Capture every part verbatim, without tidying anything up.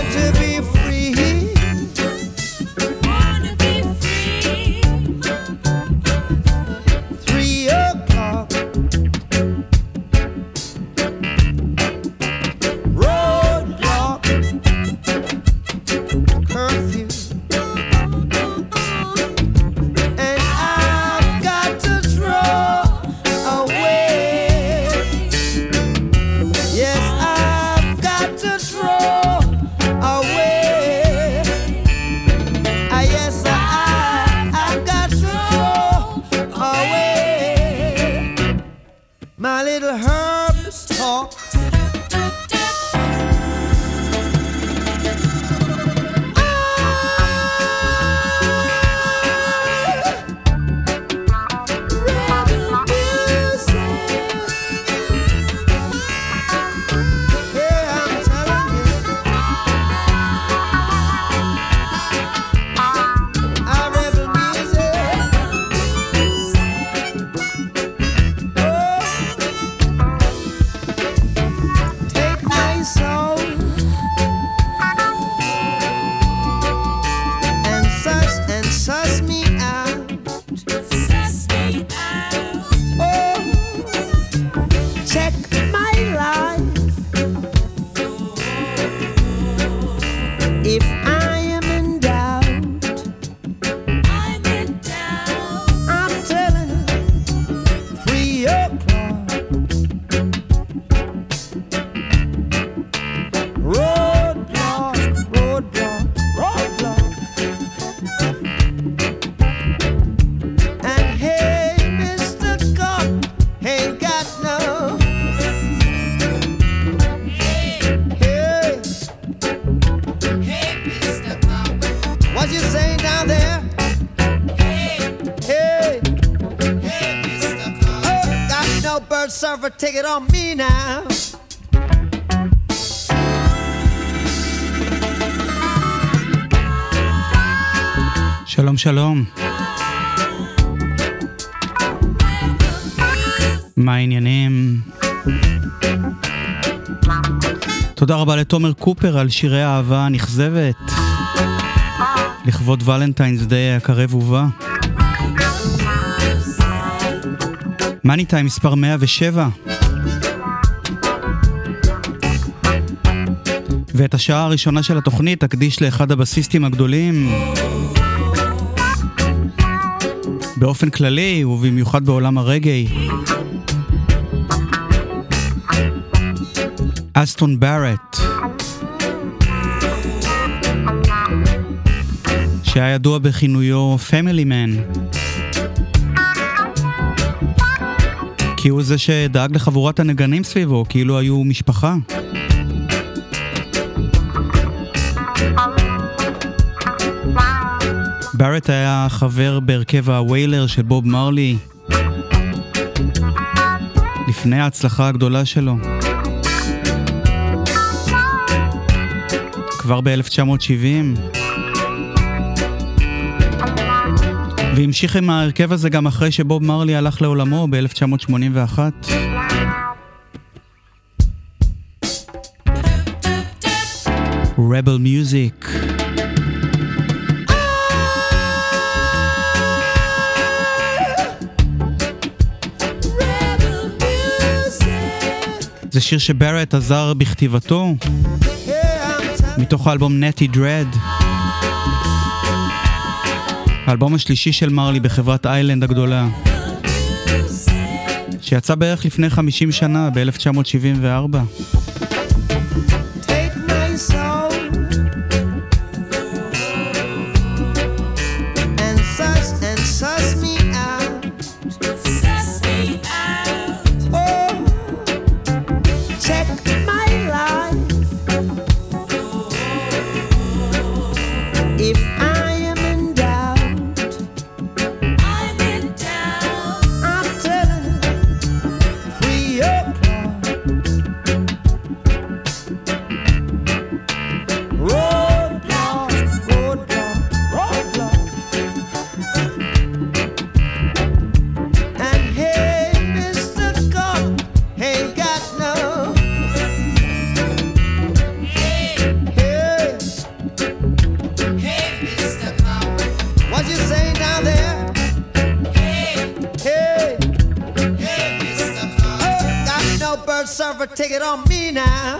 Surfer, take it on me now. שלום שלום. מה העניינים? תודה רבה לתומר קופר על שירי האהבה הנכזבת לכבוד ולנטיינס דיי הקרב ובא. מאני טיים מספר מאה ושבע. ואת השעה הראשונה של התוכנית תקדיש לאחד הבסיסטים הגדולים באופן כללי ובמיוחד בעולם הרגעי, אסטון בארט, שהיה ידוע בכינויו פמילי מן, כי הוא זה שדאג לחבורת הנגנים סביבו, כאילו היו משפחה. בארט היה חבר בהרכב הוויילר של בוב מרלי לפני ההצלחה הגדולה שלו. כבר ב-אלף תשע מאות שבעים. והמשיך עם ההרכב הזה גם אחרי שבוב מרלי הלך לעולמו ב-אלף תשע מאות שמונים ואחת. Rebel Music. זה שיר שבארט עזר בכתיבתו מתוך האלבום נטי דרד, האלבום השלישי של מרלי בחברת איילנד הגדולה, שיצא בערך לפני חמישים שנה ב-אלף תשע מאות שבעים וארבע. ever take it on me now.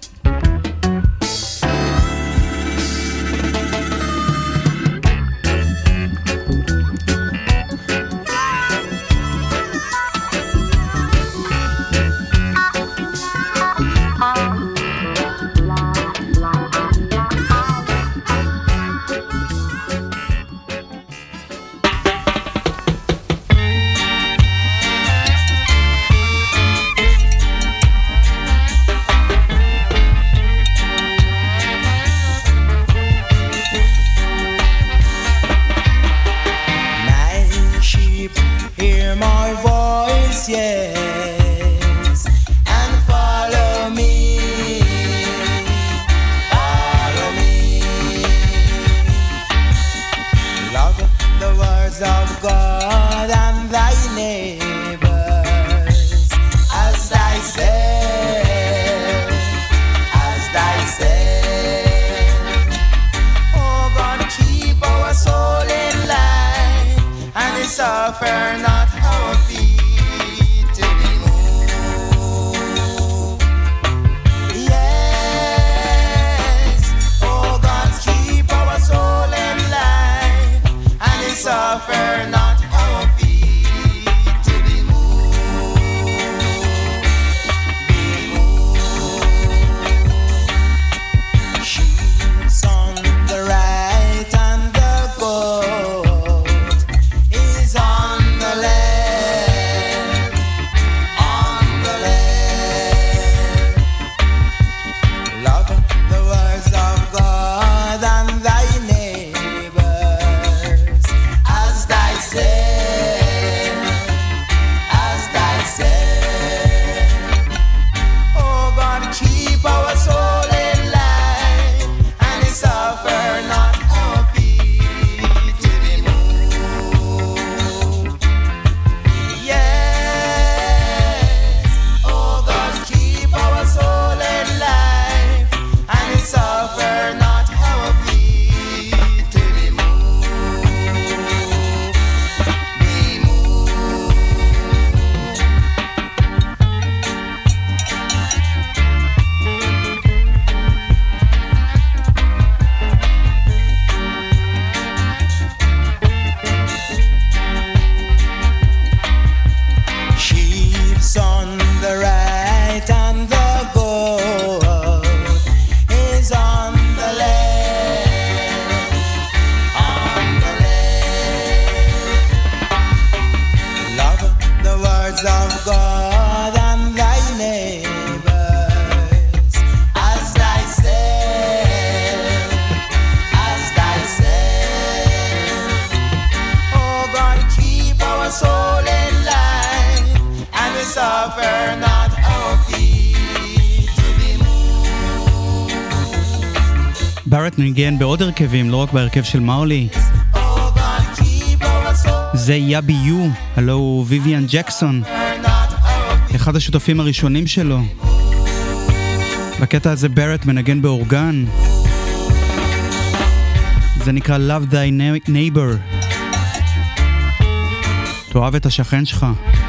בארט ניגן בעוד הרכבים, לא רק בהרכב של מרלי. זה יאבי יו, הלו הוא ויויאן ג'קסון, אחד השותפים הראשונים שלו. בקטע הזה בארט מנגן באורגן. זה נקרא Love Thy Neighbor. תאהב את השכן שלך.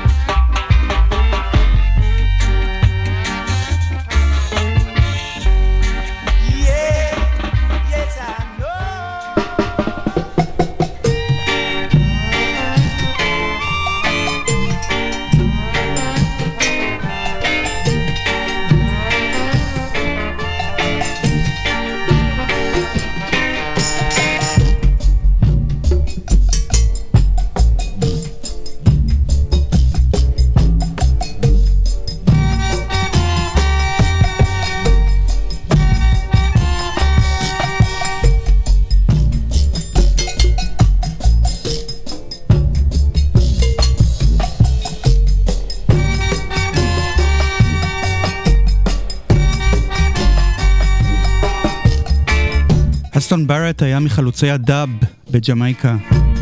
אסטון בארט היה מחלוצי הדאב בג'מייקה.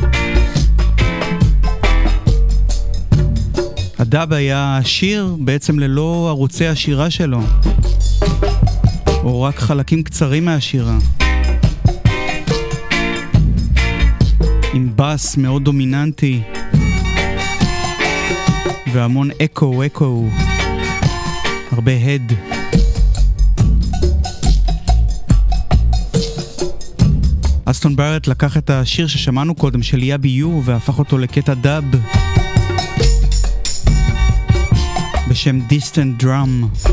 הדאב היה שיר בעצם ללא ערוצי השירה שלו, או רק חלקים קצרים מהשירה, עם בס מאוד דומיננטי והמון אקו אקו. הרבה הד. אסטון בארט לקח את השיר ששמענו קודם של יאבי יו והפך אותו לקטע דאב בשם Distant Drum.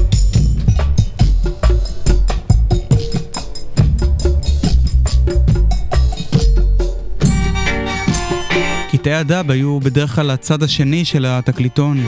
קטעי הדאב היו בדרך כלל הצד השני של התקליטון.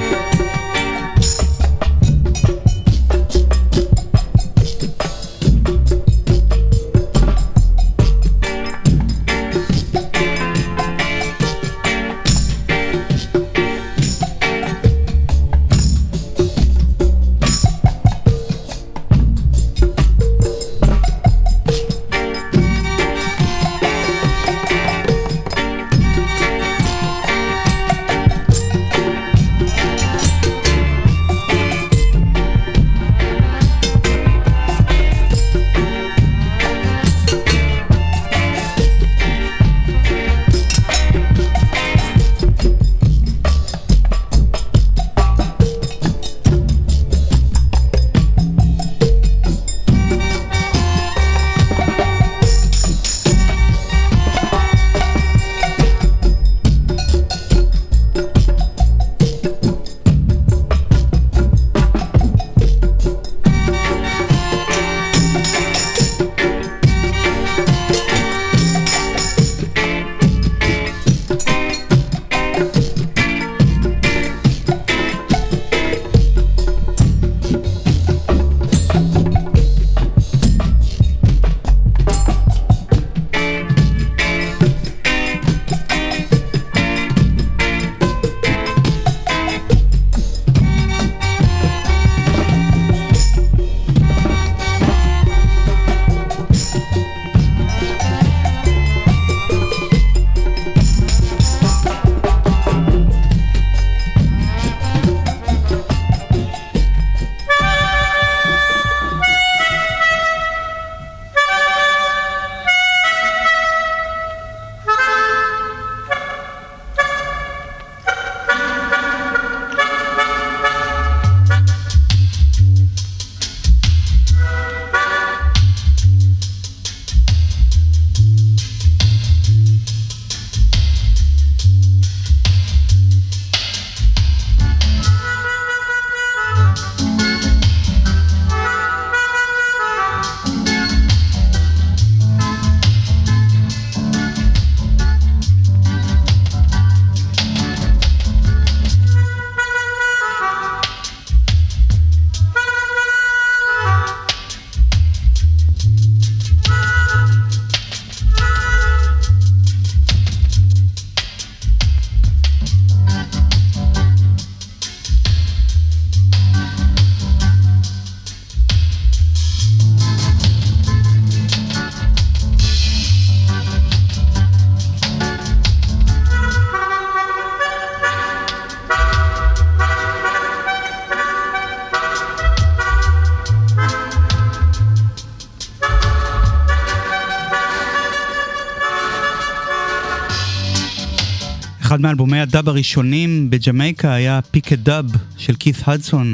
אחד מאלבומי הדאב הראשונים בג'מייקה היה פיק דאב של כית הדסון,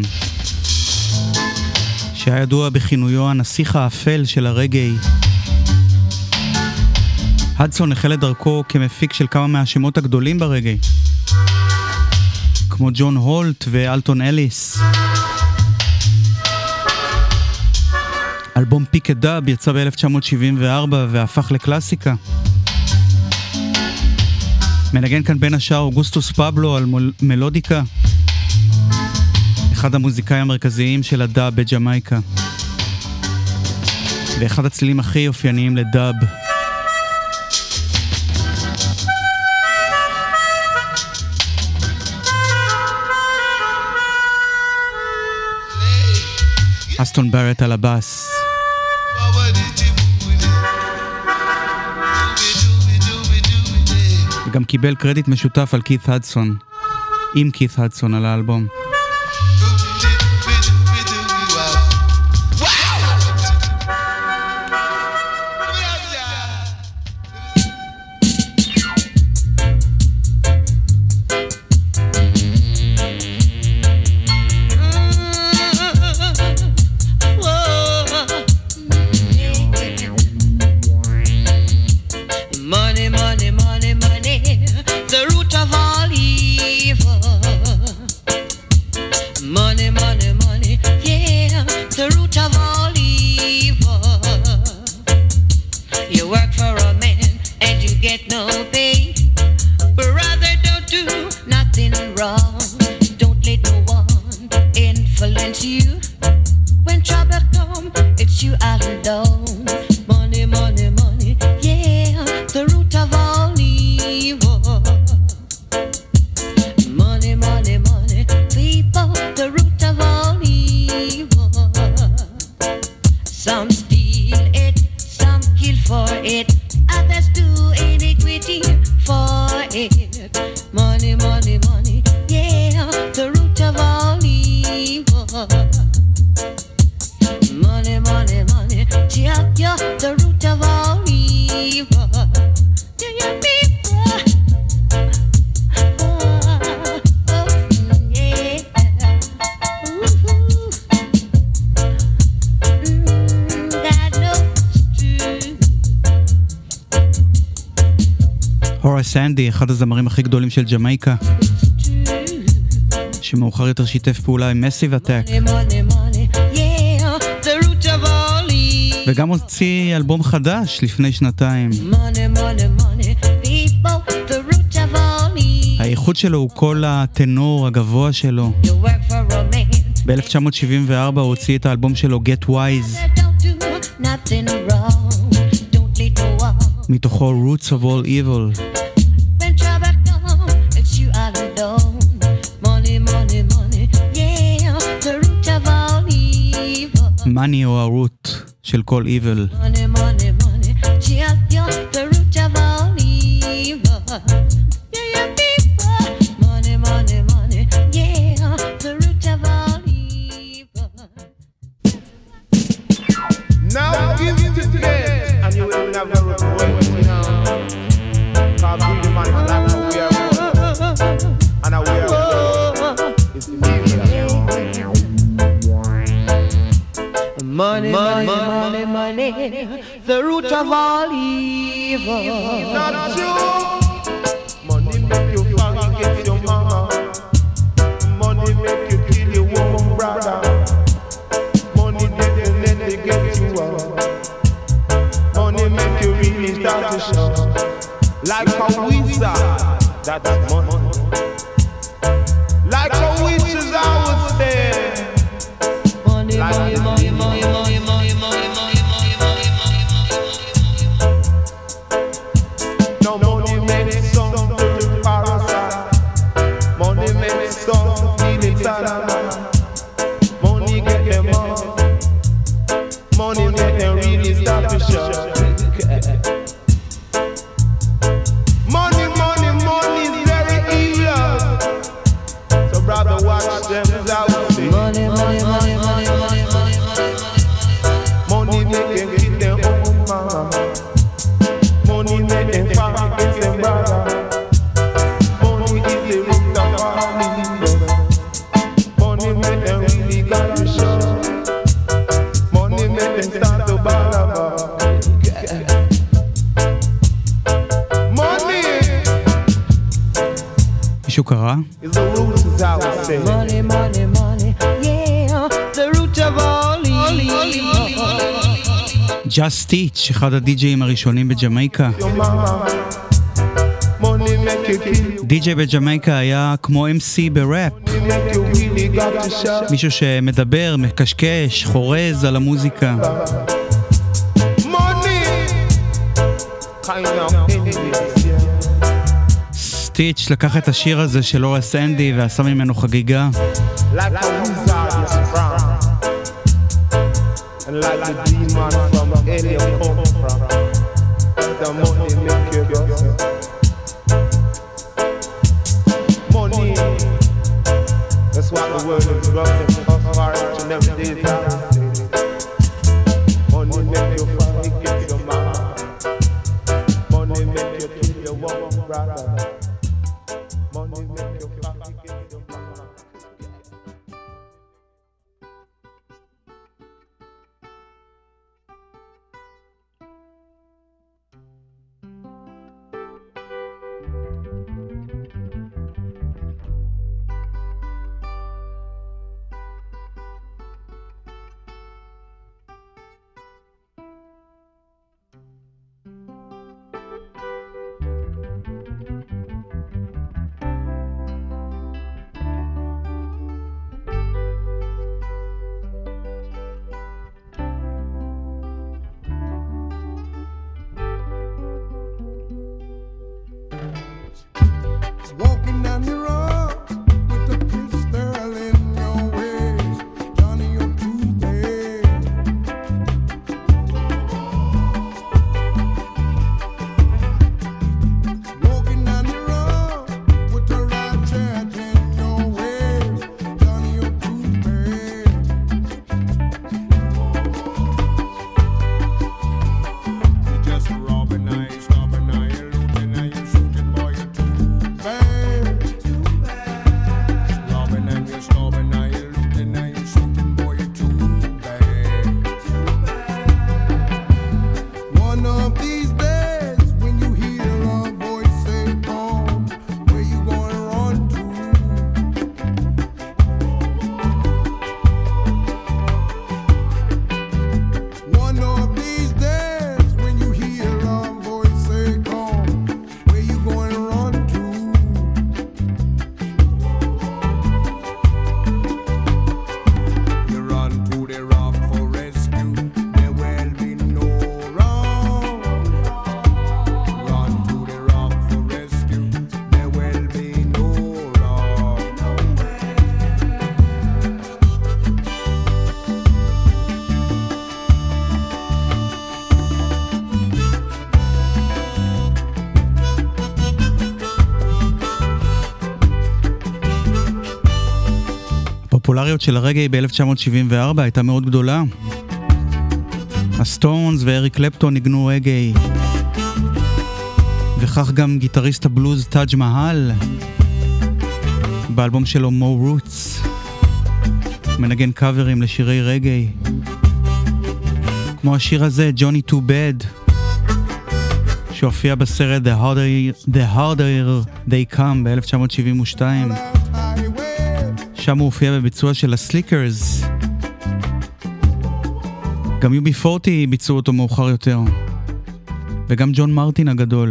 שהיה ידוע בכינויו הנסיך האפל של הרגעי. הדסון החל את דרכו כמפיק של כמה מהשמות הגדולים ברגעי, כמו ג'ון הולט ואלטון אליס. אלבום פיק דאב יצא ב-אלף תשע מאות שבעים וארבע והפך לקלאסיקה. מנגן כאן בין השאר אוגוסטוס פבלו על מלודיקה, אחד המוזיקאים המרכזיים של הדאב בג'מייקה, ואחד הצלילים הכי אופייניים לדאב. אסטון בארט על הבאס. וגם קיבל קרדיט משותף על כית הדסון, עם כית הדסון על האלבום. You work for a man and you get no pay. Brother, don't do nothing wrong. Don't let no one influence you. When trouble come, it's you all alone. Money, money, money, yeah, the root of all evil. Money, money, money, people, the root of all evil. Some steal it, some kill for it, others do iniquity for it. Money, money, money, yeah, the root of all evil. Money, money, money, yeah, yeah, the root of all evil. Do you people? Oh, oh, yeah. Ooh, mm, God knows true. הורס אנדי, אחד הזמרים הכי גדולים של ג'מייקה, שמאוחר יותר שיתף פעולה עם מסיב אטק, וגם הוציא אלבום חדש לפני שנתיים. האיכות שלו הוא כל הטנור הגבוה שלו. ב-אלף תשע מאות שבעים וארבע הוא הוציא את האלבום שלו Get Wise, מתוכו Roots of All Evil. Money או הרוט של כל evil. Money, money, money, yeah, yeah, the root of all evil. Yeah, yeah, people. Money, money, money, yeah, the root of all evil. Now give it to them, and you will never regret it now. Cause we the man like how we are born, and how we are born. It's evil. Money, money, money, money, the root of all evil. Not true. Money make you forget your mama. Money make you kill your own brother. Money didn't let it get you out. Money make you really start to show. Like a wizard, that's money. Like a witch is always there. Money, money, money, money, money, money, money, money, money, money, money. No money makes some to the parasite. Money makes some to feel inside. Money get them up. Money make them really start to show. Money, money, money is very evil. So brother, watch them out. Money, money, money, money, money, money, money. Money make them kill their own mama. Money make them fight against them brother. Money is the root of all evil. Money make them really got to show. Money make them start to balaba. Money מישהו קרא? is the root, as I would say. Money, money, money, yeah, the root of all evil. Just Teach, אחד הדי-ג'אים הראשונים בג'מייקה. Your mama. Money make you kill. די-ג'יי בג'מייקה היה כמו אם סי בראפ, Money make you really got to show. מישהו שמדבר, מקשקש, חורז על המוזיקה. Money kind of envious, yeah. סטיץ' לקח את השיר הזה של הורס אנדי ועשה ממנו חגיגה. Like a wizard is from, and like the demon from Elia come from. The money make you go. Money, that's what the world is running for each and every day. Money make you forget your mama. Money make you kill your one brother. Money make you forget your mama. הפופולריות של הרגעי ב-אלף תשע מאות שבעים וארבע הייתה מאוד גדולה. הסטונס ואריק קלפטון ניגנו רגעי, וכך גם גיטריסט הבלוז טאג' מהל באלבום שלו מו רוטס מנגן קאברים לשירי רגעי, כמו השיר הזה ג'וני טו בד שהופיע בסרט The Harder, The Harder They Come ב-אלף תשע מאות שבעים ושתיים. שם הוא הופיע בביצוע של הסליקרס. גם יו בי פורטי ביצעו אותו מאוחר יותר, וגם ג'ון מרטין הגדול.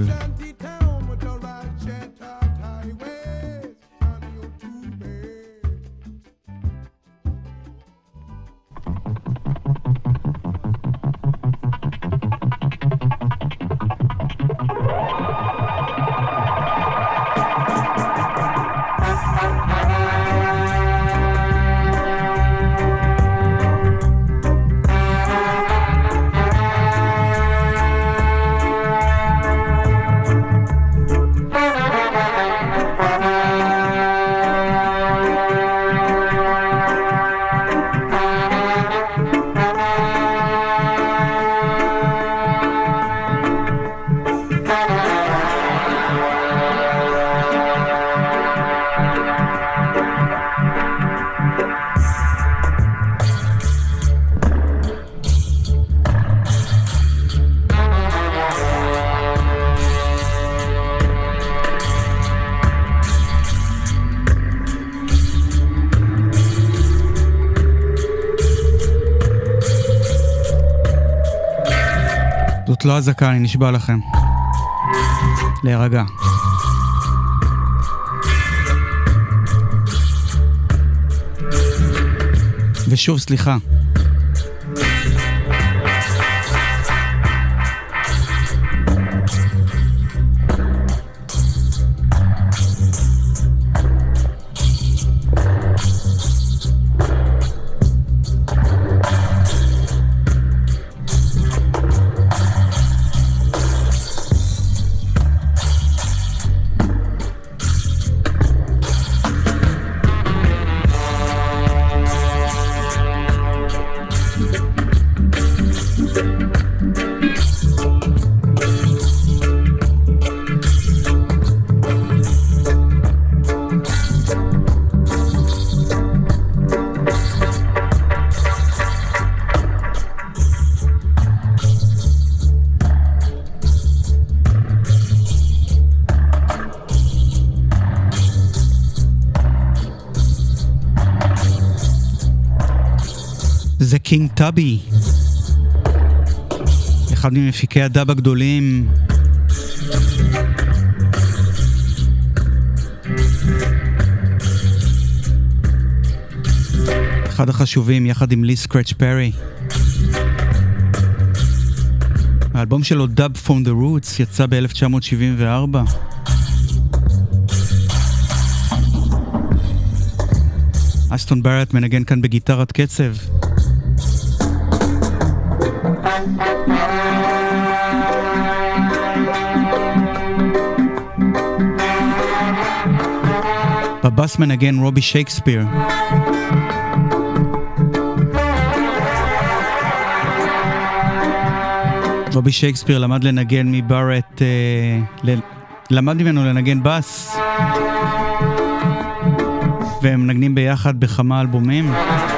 זאת לא הזקה, אני נשבע לכם. להירגע. ושוב סליחה. זה קינג טאבי, אחד ממפיקי הדאב הגדולים. אחד החשובים יחד עם לי סקרץ' פרי. האלבום שלו Dub from the Roots יצא ב-אלף תשע מאות שבעים וארבע. אסטון בארט מנגן כאן בגיטרת קצב. בבאס מנגן רובי שייקספיר. רובי שייקספיר למד לנגן מבארט, אה, ל... למד ממנו לנגן בס, והם מנגנים ביחד בכמה אלבומים.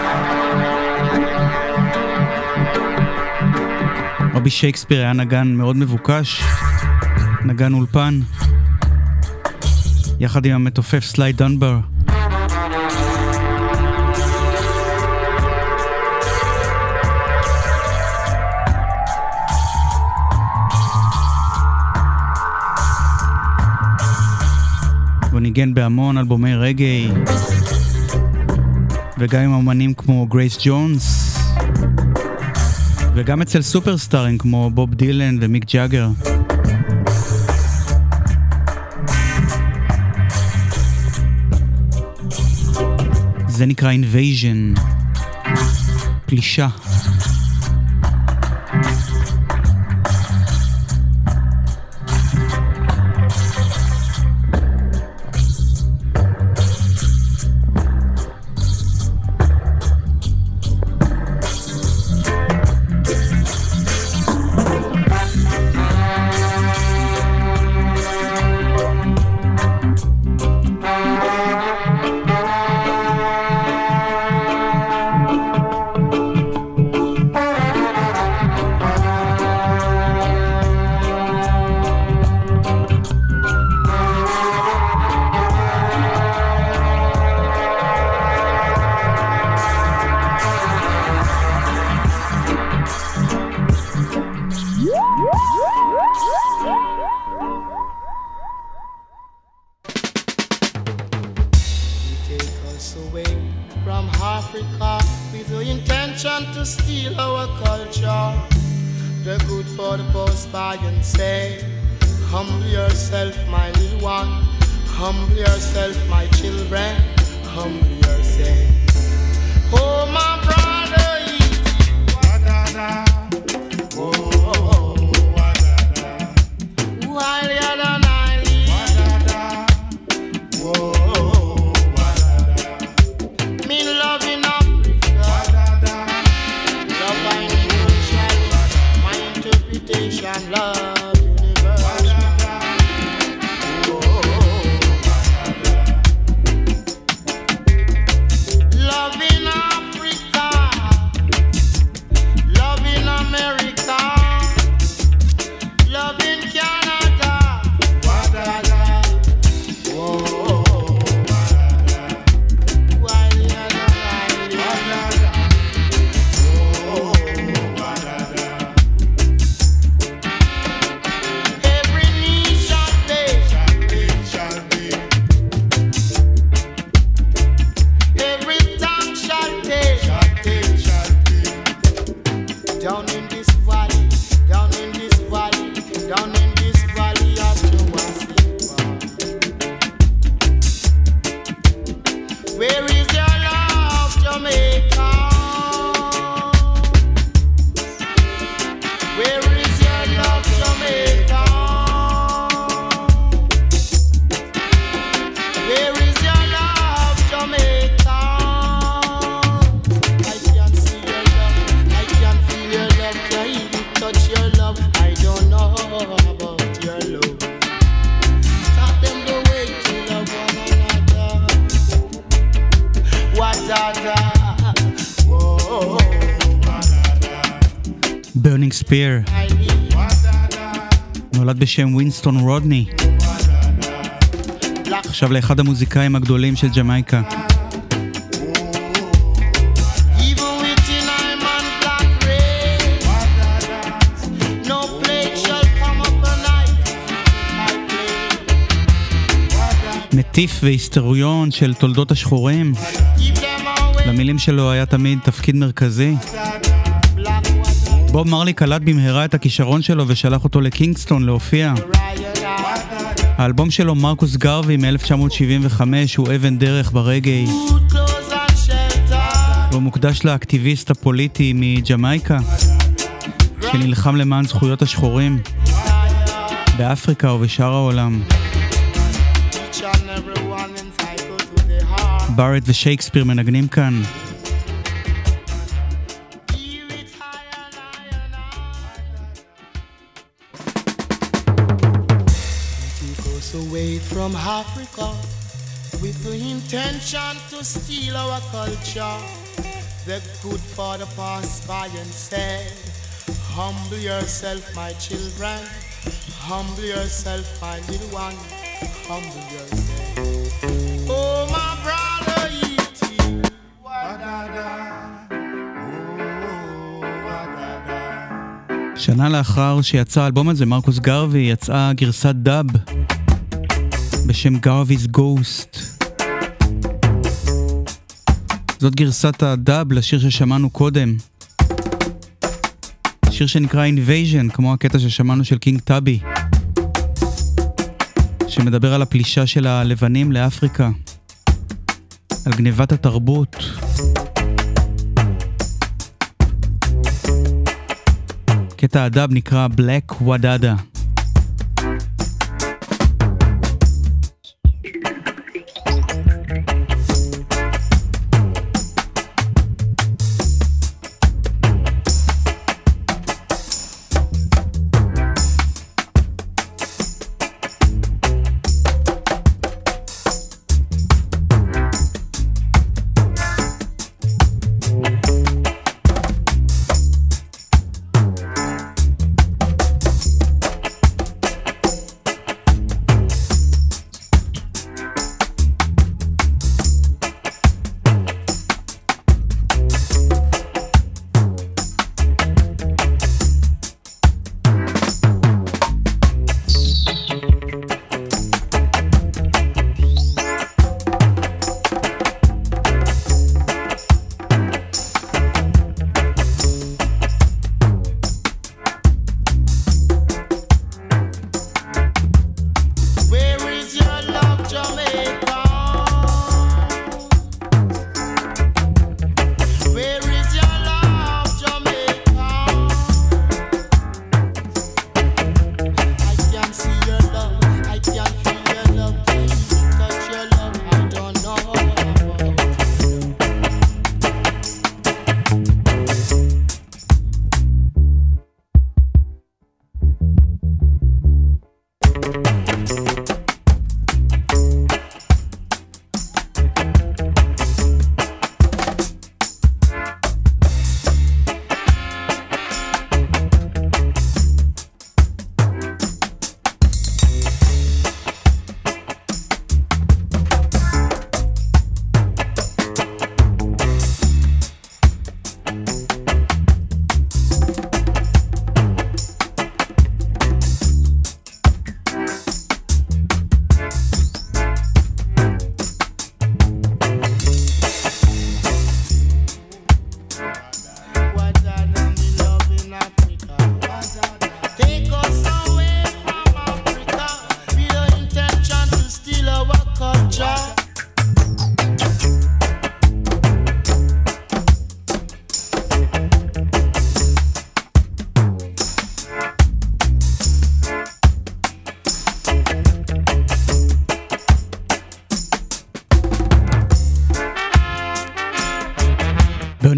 רובי שייקספיר היה נגן מאוד מבוקש, נגן אולפן, יחד עם המתופף סליי דנבר. הוא ניגן בהמון אלבומי רגעי, וגם עם אומנים כמו גרייס ג'ונס, וגם אצל סופרסטארים כמו בוב דילן ומיק ג'אגר. זה נקרא Invasion, פלישה. intention to steal our culture. The good for the post by and say, humble yourself, my little one. Humble yourself, my children. Humble yourself. Oh, my brother, wa-da-da. Oh, oh, oh, wa-da-da. While you're the night, wa-da-da. Oh, oh, wa-da-da. Me love in Africa, wa-da-da. Love I need, my interpretation, love. ברנינג ספיר, נולד בשם ווינסטון רודני, עכשיו לאחד המוזיקאים הגדולים של ג'מייקה. מטיף והיסטוריון של תולדות השחורים, למילים שלו היה תמיד תפקיד מרכזי. בוב מרלי קלט במהרה את הכישרון שלו ושלח אותו לקינגסטון להופיע. האלבום שלו מרקוס גרווי מ-אלף תשע מאות שבעים וחמש הוא אבן דרך ברגעי. הוא מוקדש לאקטיביסט הפוליטי מג'מייקה שנלחם למען זכויות השחורים באפריקה ובשאר העולם. בארט ושייקספיר מנגנים כאן. Away from Africa with the intention to steal our culture. The good father passed by and said, humble yourself, my children. Humble yourself, my little one. Humble yourself. Oh, my brother, E.T. Wa-da-da. Oh, wa-da-da. שנה לאחר שיצא האלבום הזה, מרקוס גרווי, יצאה גרסת דאב בשם גרווי's Ghost. זאת גרסת הדאב לשיר ששמענו קודם. שיר שנקרא Invasion, כמו הקטע ששמענו של קינג טאבי, שמדבר על הפלישה של הלבנים לאפריקה, על גניבת התרבות. קטע הדאב נקרא Black Wadada.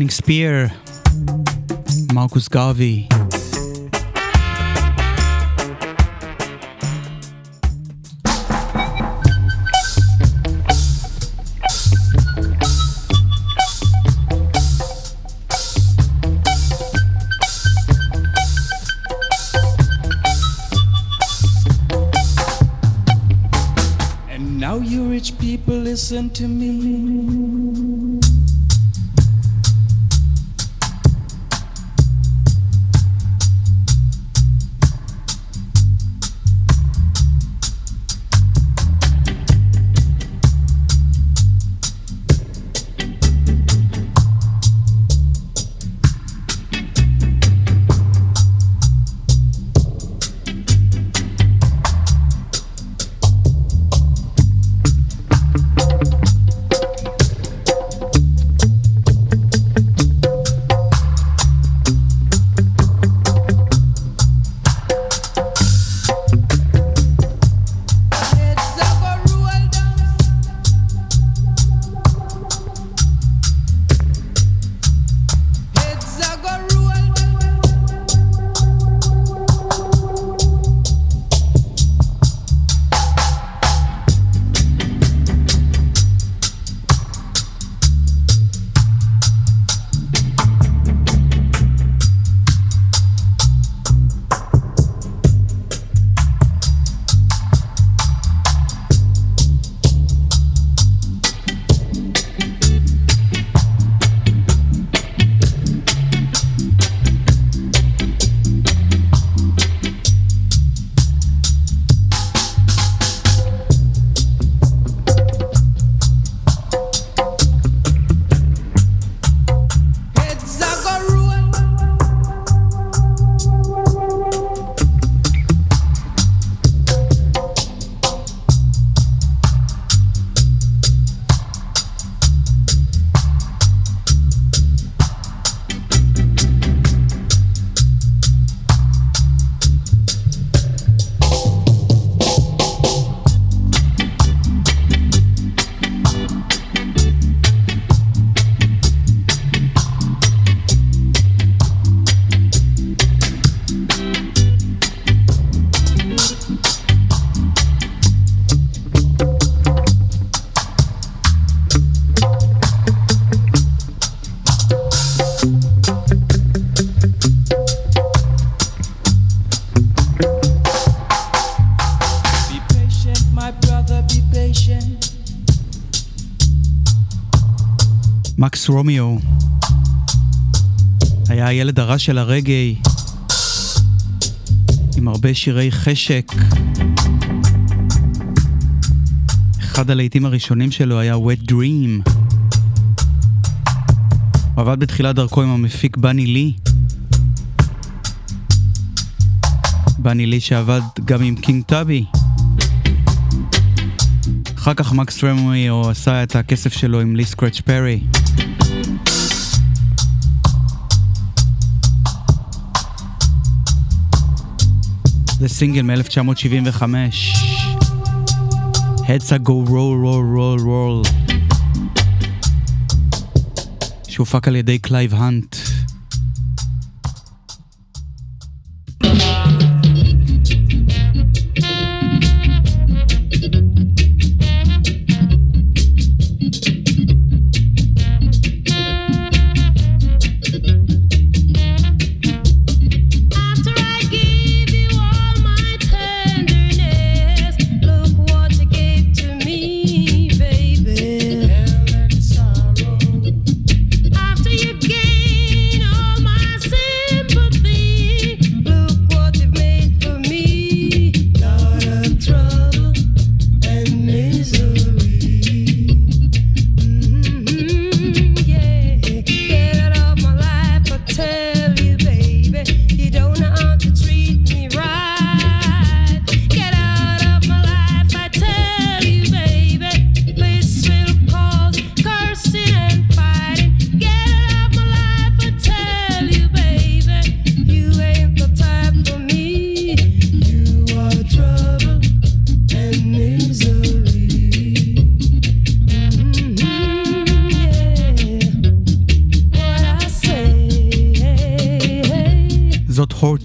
Flying Spear, מרקוס גרווי. Listen to me. מקס רומיו היה הילד הרע של הרגעי, עם הרבה שירי חשק. אחד הלהיטים הראשונים שלו היה Wet Dream. הוא עבד בתחילת דרכו עם המפיק בני לי. בני לי שעבד גם עם קינג טאבי. אחר כך מקס רומיו עשה את הכסף שלו עם לי סקרץ' פרי. זה סינגל מ-אלף תשע מאות שבעים וחמש. Heads a go roll roll roll roll, שהופק על ידי קלייב הנט. After you gave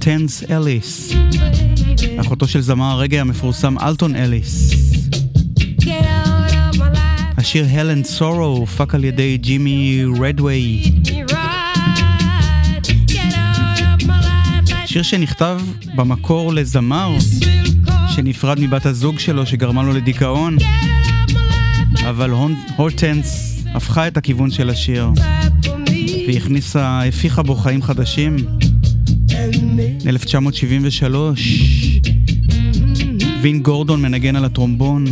הורטנס אליס, אחותו של זמר הרגע המפורסם אלטון אליס. השיר Hell and Sorrow הופק על ידי ג'ימי רדווי, שיר שנכתב במקור לזמר שנפרד מבת הזוג שלו שגרמה לו לדיכאון, אבל הורטנס הפכה את הכיוון של השיר והכניסה, הפיחה בו חיים חדשים. אלף תשע מאות שבעים ושלוש וין גורדון מנגן על הטרומבון.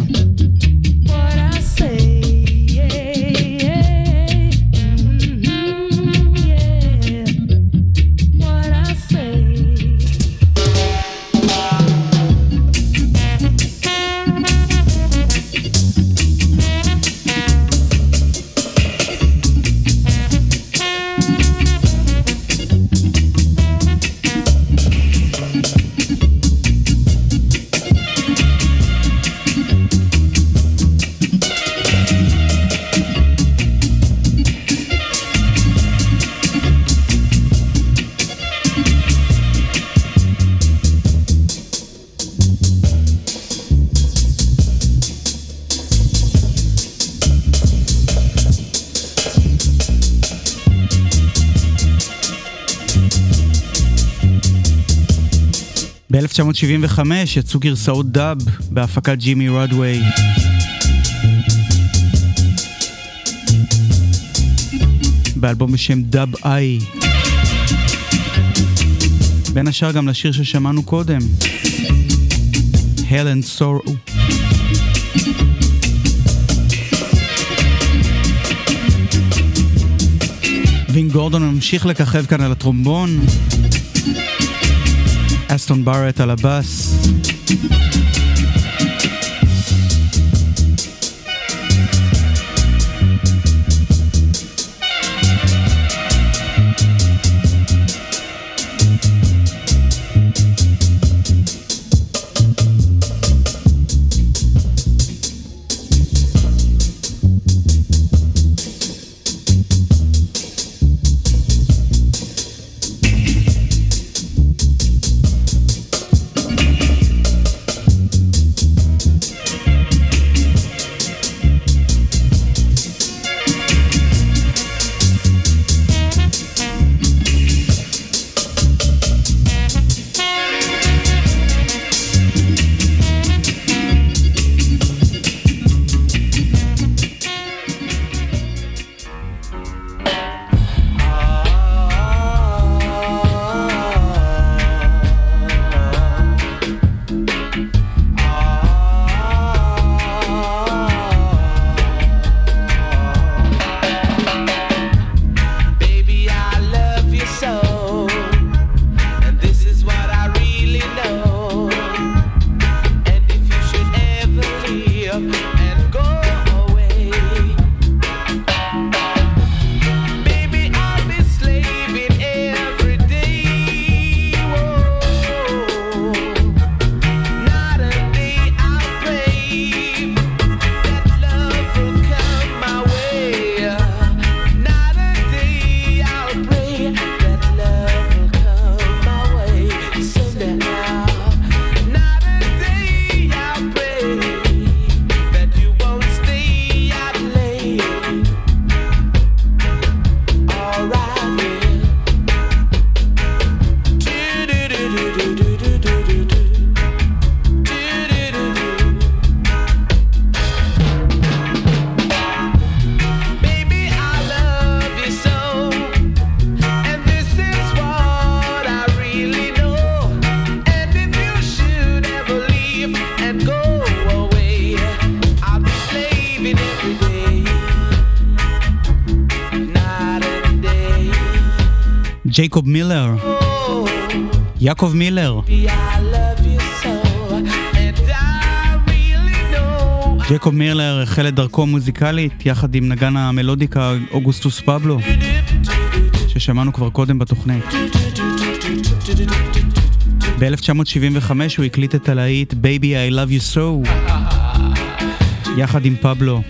ב-אלף תשע מאות שבעים וחמש יצאו גרסאות דאב בהפקת ג'ימי רדווי. באלבום בשם דאב איי. בין השאר גם לשיר ששמענו קודם, Hell and Sorrow. וין גורדון ממשיך לככב כאן על הטרומבון, אסטון בארט על הבאס. ג'ייקוב מילר, יעקב מילר. ג'ייקוב מילר החל את דרכו מוזיקלית יחד עם נגן המלודיקה אוגוסטוס פבלו, ששמענו כבר קודם בתוכנית. ב-אלף תשע מאות שבעים וחמש הוא הקליט את הלהיט Baby I Love You So יחד עם פבלו.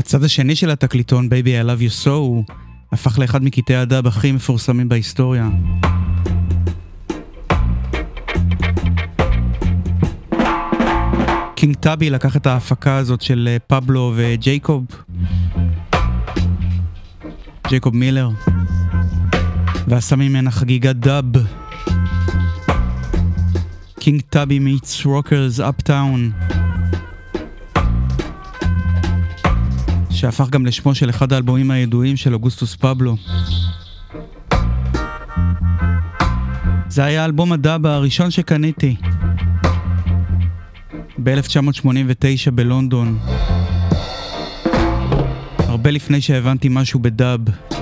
הצד השני של התקליטון, Baby I Love You So, הפך לאחד מקטעי הדאב הכי מפורסמים בהיסטוריה. קינג טאבי לקח את ההפקה הזאת של פבלו וג'ייקוב, ג'ייקוב מילר, ועשה ממנה חגיגת דאב. קינג טאבי meets Rockers Uptown, שהפך גם לשמו של אחד האלבומים הידועים של אוגוסטוס פבלו. זה היה אלבום הדאב הראשון שקניתי ב-אלף תשע מאות שמונים ותשע בלונדון, הרבה לפני שהבנתי משהו בדאב.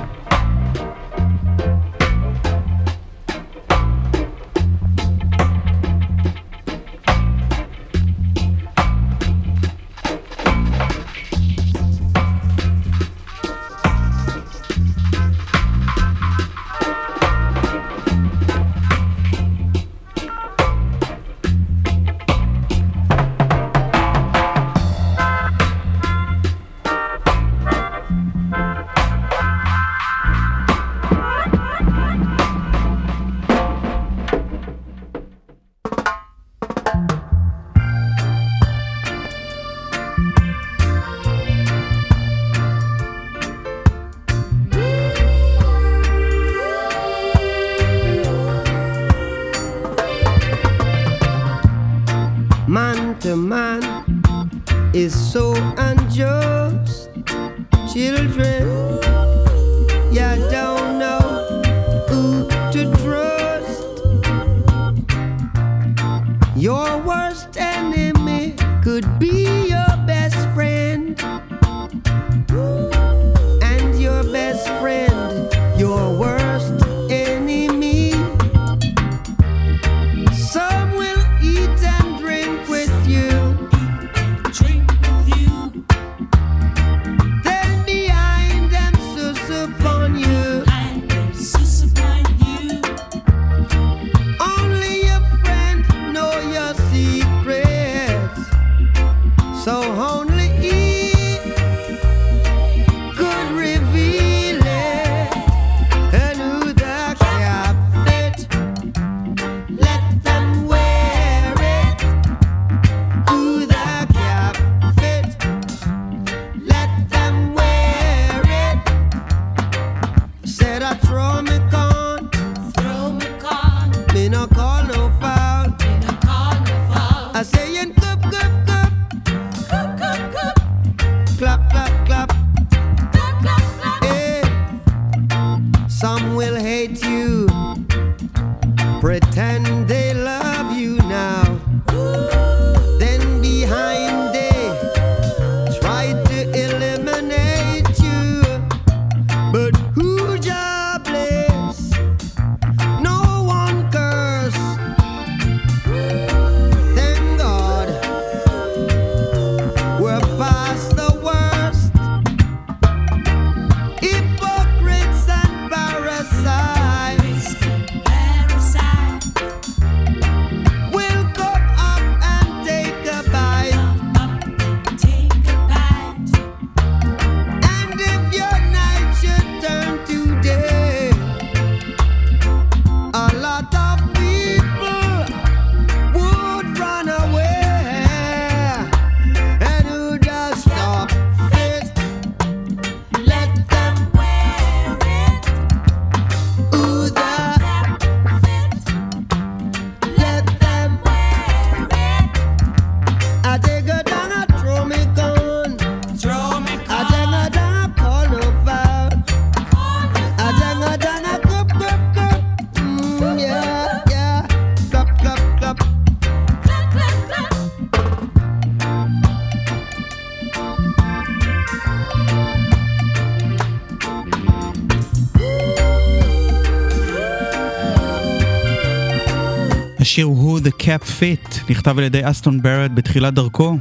השיר הוא The Cap Fit, נכתב על ידי אסטון ברט בתחילת דרכו,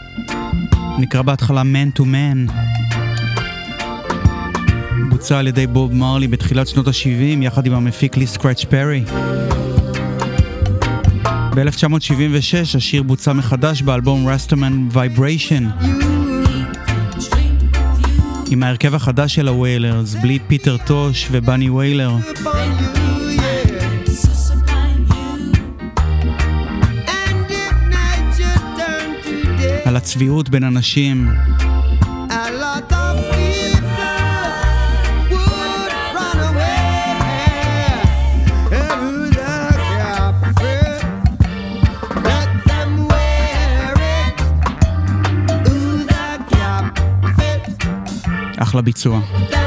נקרא בהתחלה Man to Man, בוצע על ידי בוב מרלי בתחילת שנות ה-שבעים יחד עם המפיק לי סקרץ' פרי. ב-אלף תשע מאות שבעים ושש השיר בוצע מחדש באלבום Rastaman Vibration. עם ההרכב החדש של הוויילרס, בלי פיטר טוש ובני ויילר. על הצביעות בין אנשים. אחלה ביצוע.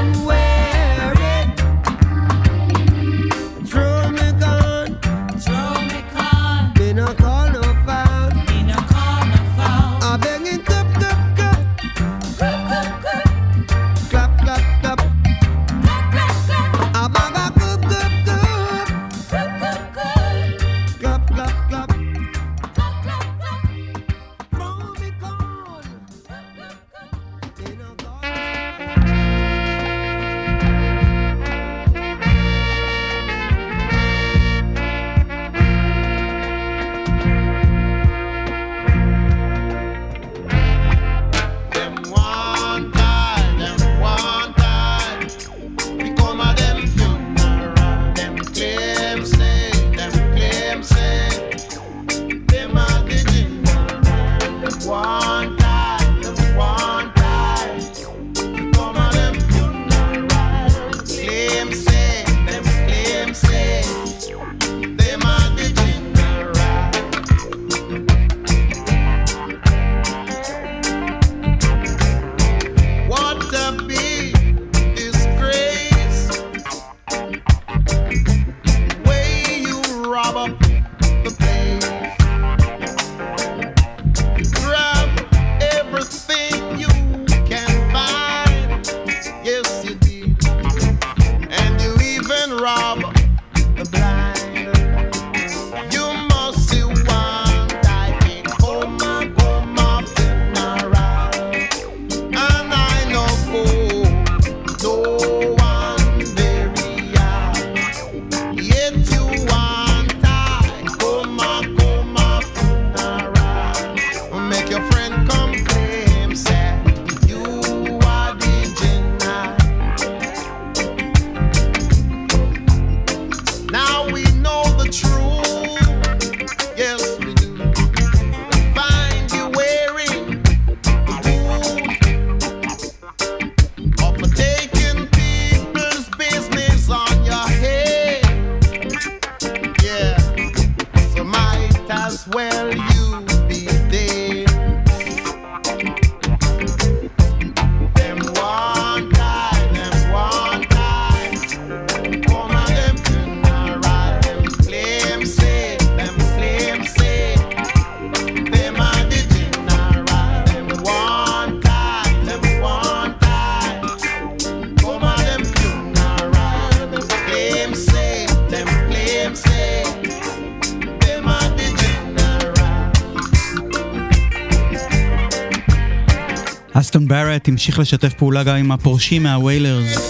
אסטון ברט המשיך לשתף פעולה גם עם הפורשים מהוויילרס.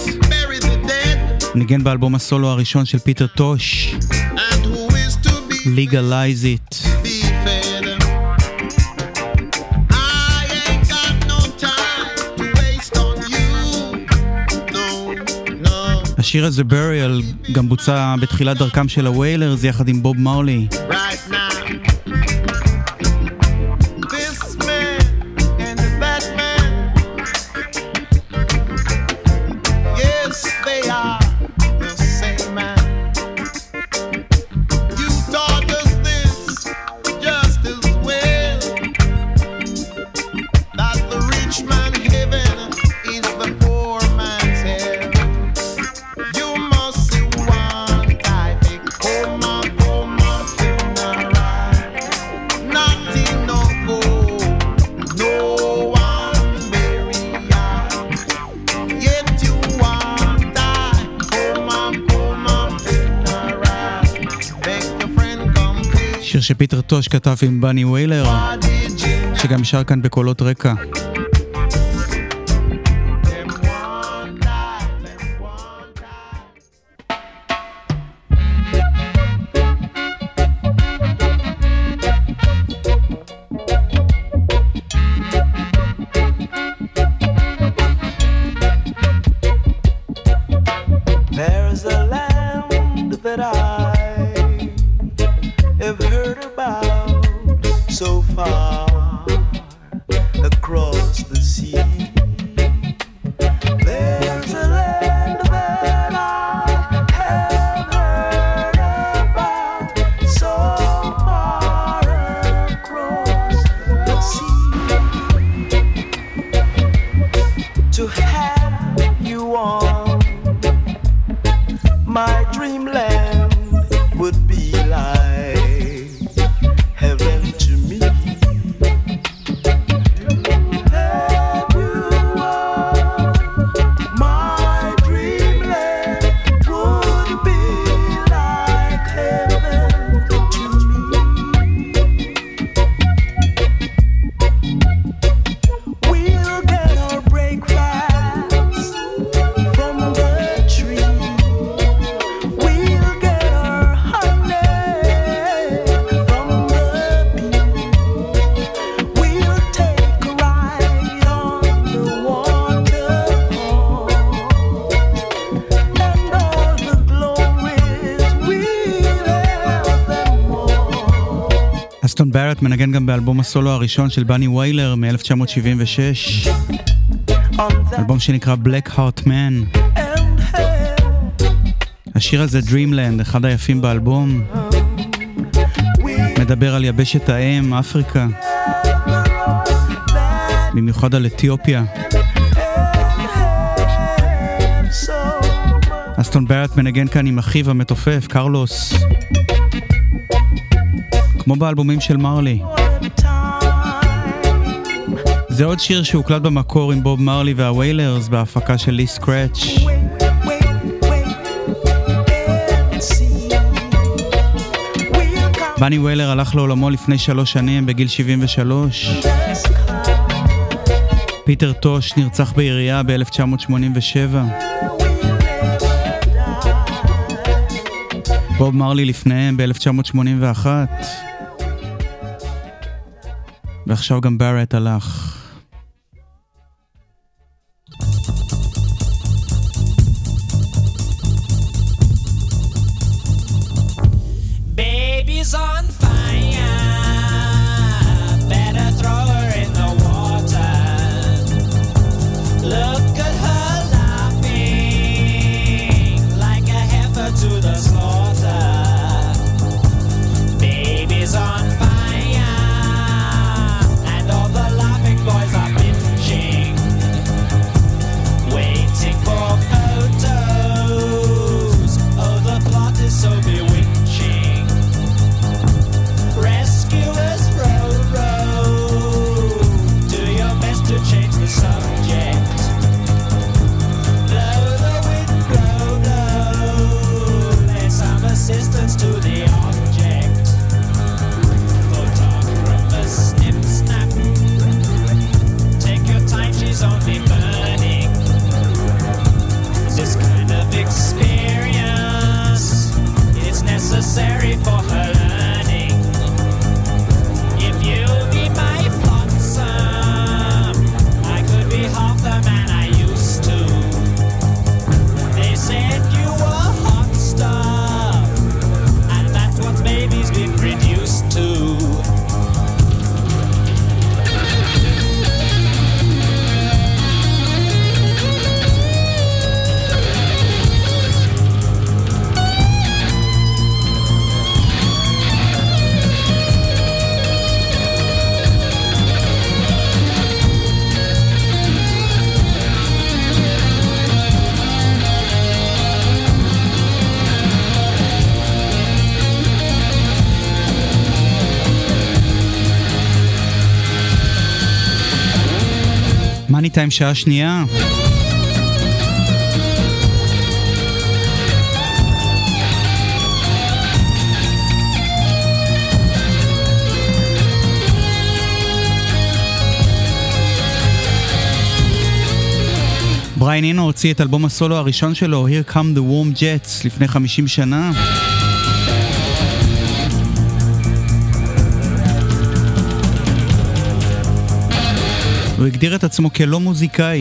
ניגן באלבום הסולו הראשון של פיטר טוש, Legalize It. השיר הזה בריאל גם בוצע בתחילת דרכם של הוויילרס יחד עם בוב מרלי. שיר שפיטר טוש כתב עם בני ויילר, שגם שר כאן בקולות רקע. the sea. There's a land that I have heard about, so far across the sea. To have you on my dreamland would be like heaven to me. Have you on my dreamland would be like heaven to me. We'll get our breakfast from the tree. We'll get our honey from the bee. We'll take a ride on the waterfall, and all the glories we'll have them all. אסטון בארט מנגן גם באלבום הסולו הראשון של בני ויילר מ-אלף תשע מאות שבעים ושש, On that אלבום שנקרא Black Heart Man. and hell, השיר הזה Dreamland, אחד היפים באלבום, we מדבר על יבשת האם, אפריקה, במיוחד על אתיופיה. so much אסטון בארט מנגן כאן עם אחיו המתופף, קרלוס, כמו באלבומים של מרלי. time. זה עוד שיר שהוקלט במקור עם בוב מרלי והוויילרס בהפקה של לי סקרץ'. Wait, wait, wait, and see. We'll come בני ויילר הלך לעולמו לפני שלוש שנים בגיל שבעים ושלוש. to the sky. פיטר טוש נרצח בעירייה ב-אלף תשע מאות שמונים ושבע. We'll never die. בוב מרלי לפניהם ב-אלף תשע מאות שמונים ואחת. ועכשיו גם בארט הלך. Baby's on fire. Better throw her in the water. Look at her laughing like a heifer to the slaughter. Baby's on fire, and all the laughing boys are bitching, waiting for photos. Oh, the plot is so bewitching. Rescuers row, row, do your best to change the subject. Blow the wind, blow, blow, lend some assistance to the object. Photographers snip, snap, take your time, she's only burning. This kind of experience, it's necessary for her learning. If you'll be my flotsam, I could be half the man I used to. They said you were hot stuff, and that's what babies been reduced to. מאני טיים שעה שנייה. בריין אינו הוציא את אלבום הסולו הראשון שלו, Here Come the Warm Jets, לפני חמישים שנה. הוא הגדיר את עצמו כלא מוזיקאי,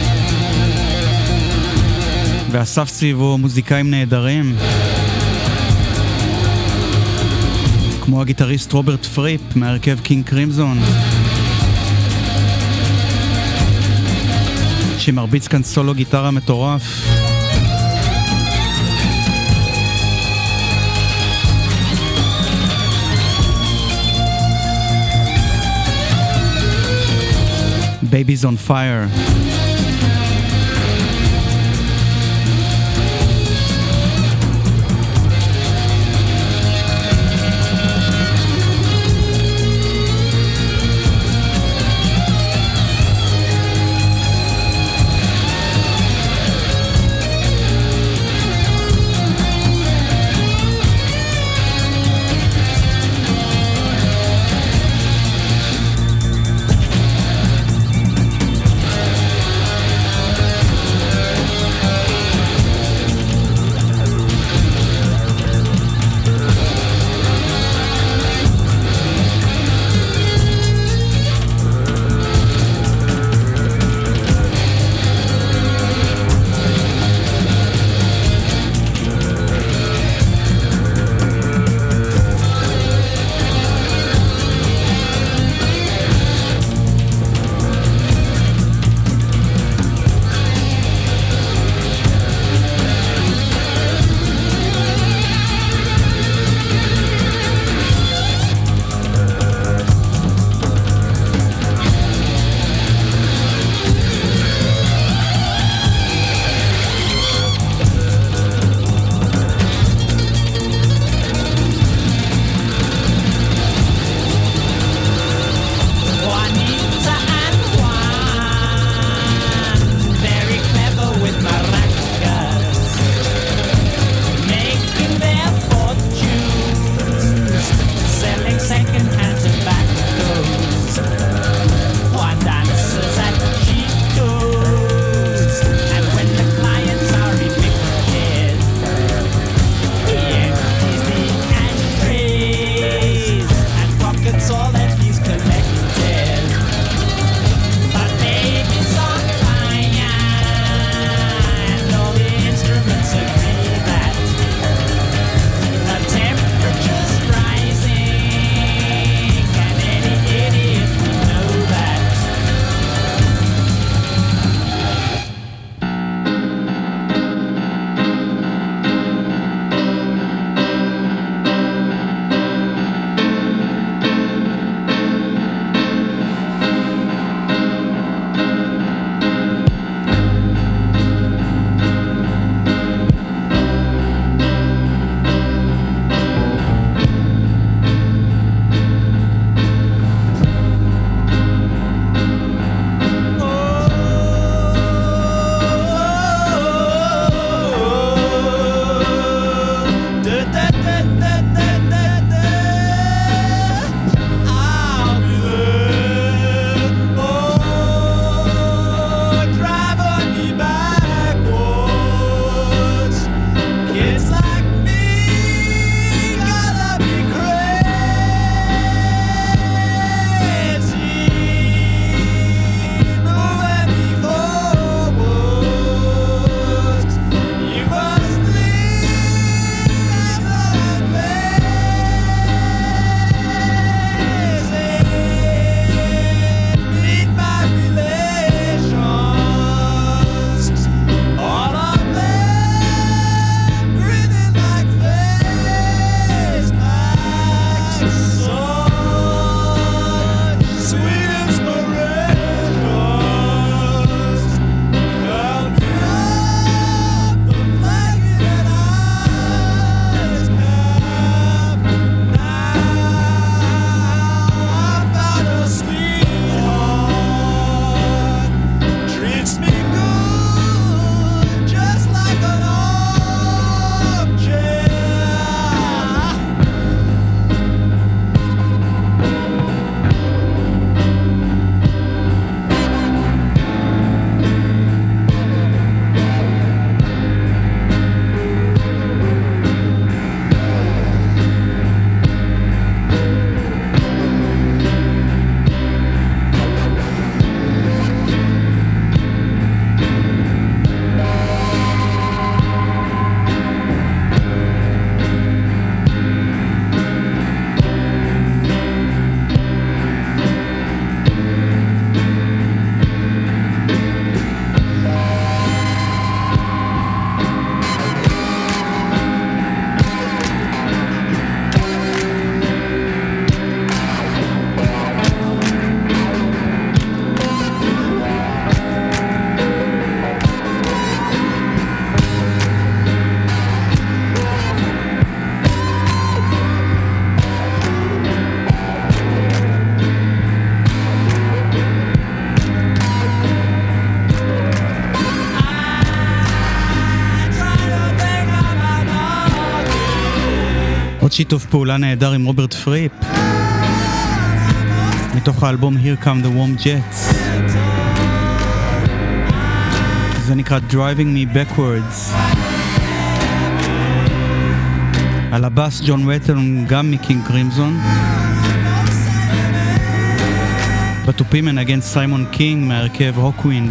ואסף סביבו מוזיקאים נהדרים, כמו הגיטריסט רוברט פריפ מהרכב קינג קרימזון. שמרביץ כאן סולו גיטרה מטורף. Baby's on Fire. עוד שיתוף פעולה נהדר עם רוברט פריפ מתוך האלבום Here Come the Warm Jets. זה נקרא Driving Me Backwards. על הבאס ג'ון וטון גם מקינג קרימזון. בתופים מנגן סיימון קינג מהרכב הוקווינד.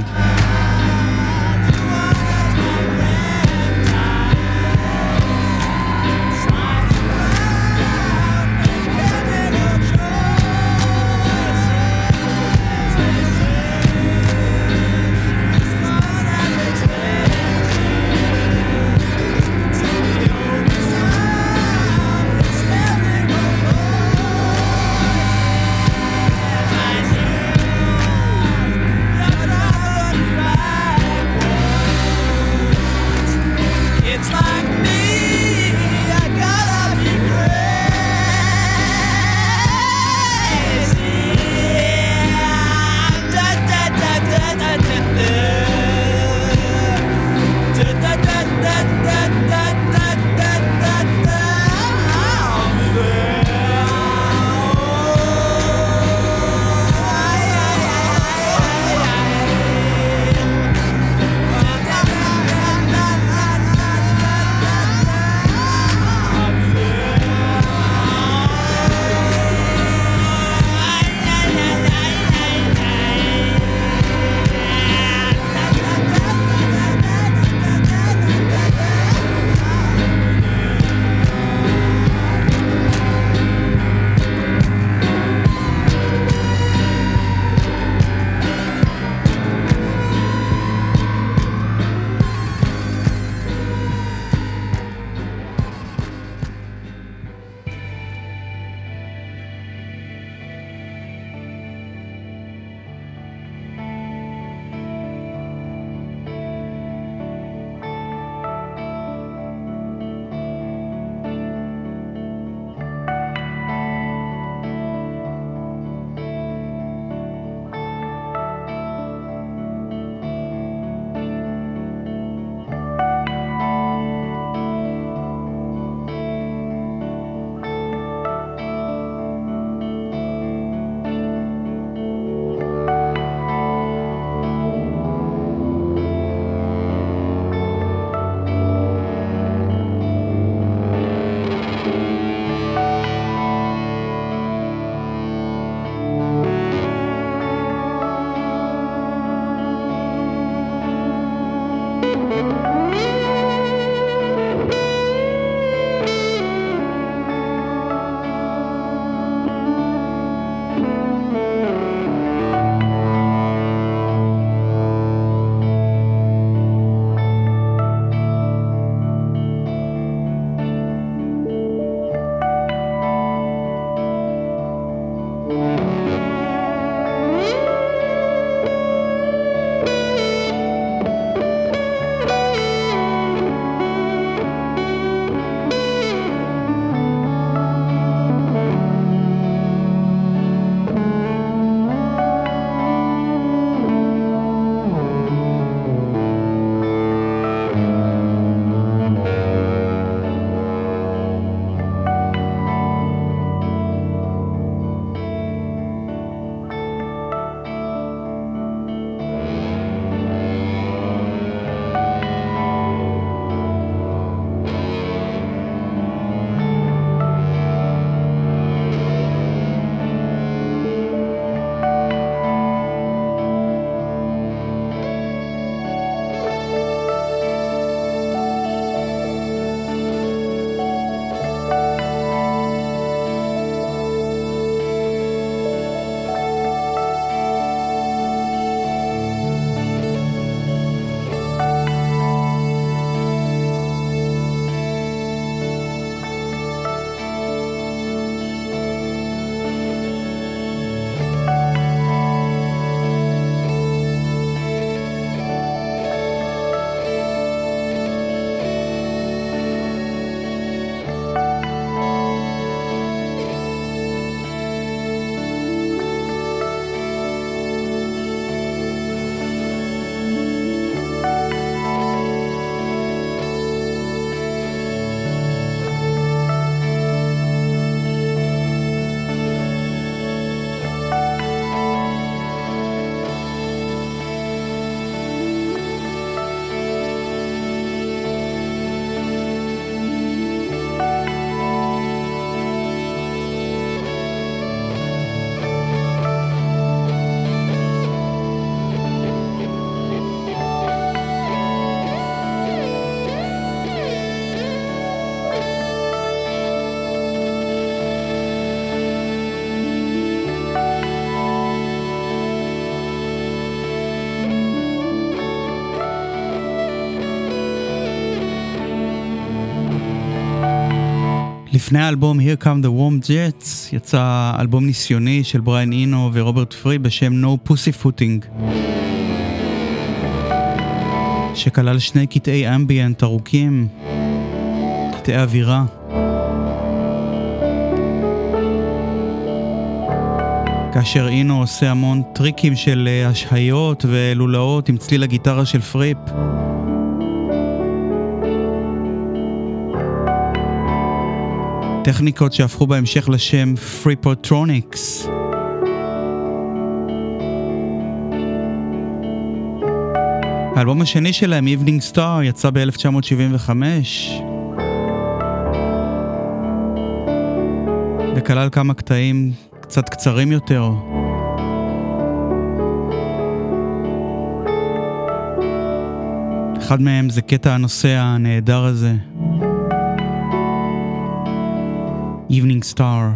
לפני האלבום Here Come the Warm Jets יצא אלבום ניסיוני של בריין אינו ורוברט פרי בשם No Pussyfooting, שכלל שני קטעי אמביאנט ארוכים, קטעי אווירה. כאשר אינו עושה המון טריקים של השהיות ולולאות עם צליל הגיטרה של פריפ. טכניקות שהפכו בהמשך לשם פריפוטרוניקס. האלבום השני שלהם, Evening Star, יצא ב-אלף תשע מאות שבעים וחמש וכלל כמה קטעים קצת קצרים יותר. אחד מהם זה קטע הנושא הנהדר הזה, Evening Star.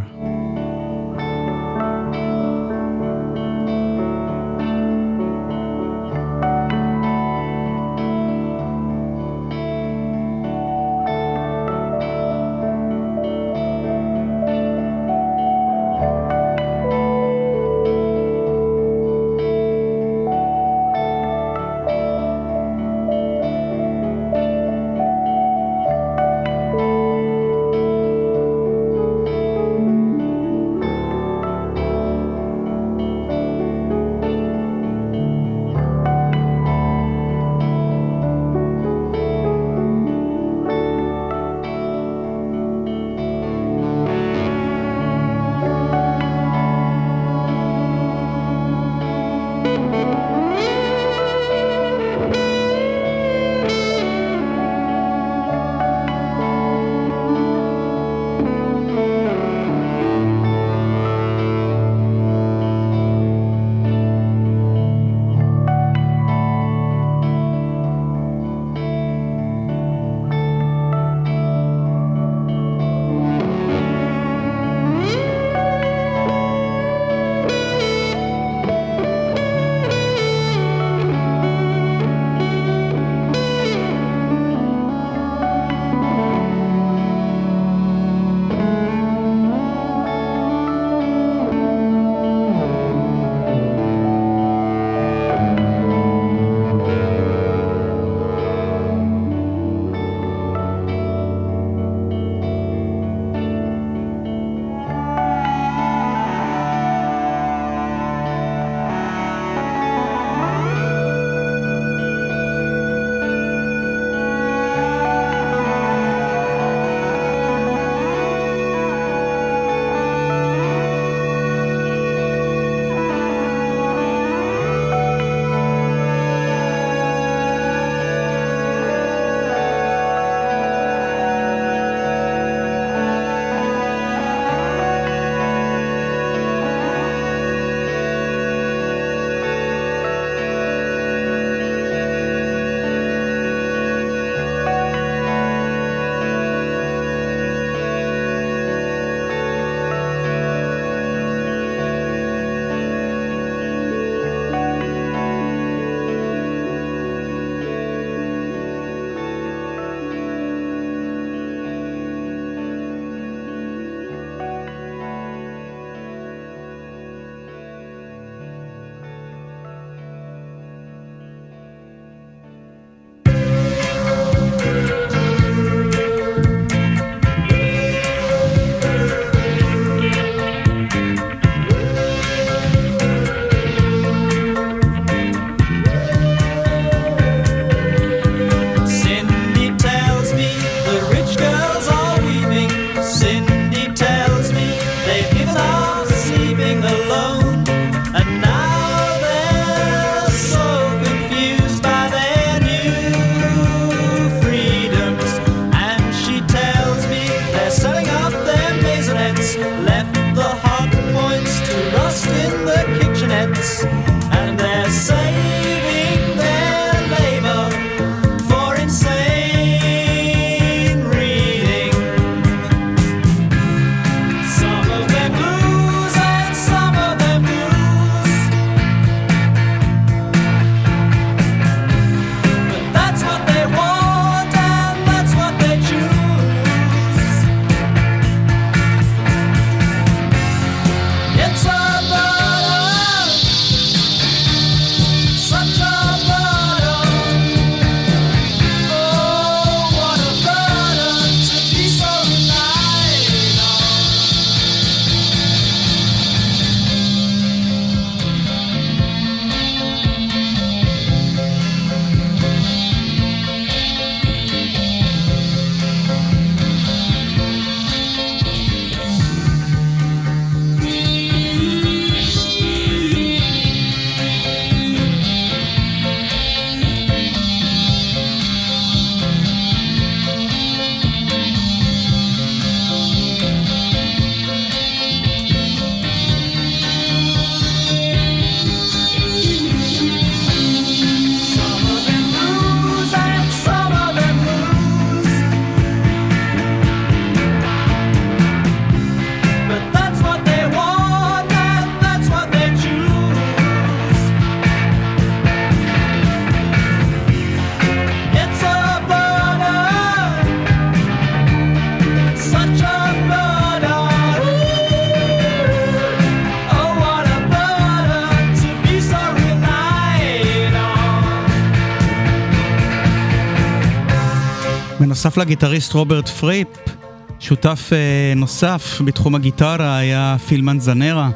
בנוסף לגיטריסט רוברט פריפ, שותף אה, נוסף בתחום הגיטרה היה פיל מנזנרה,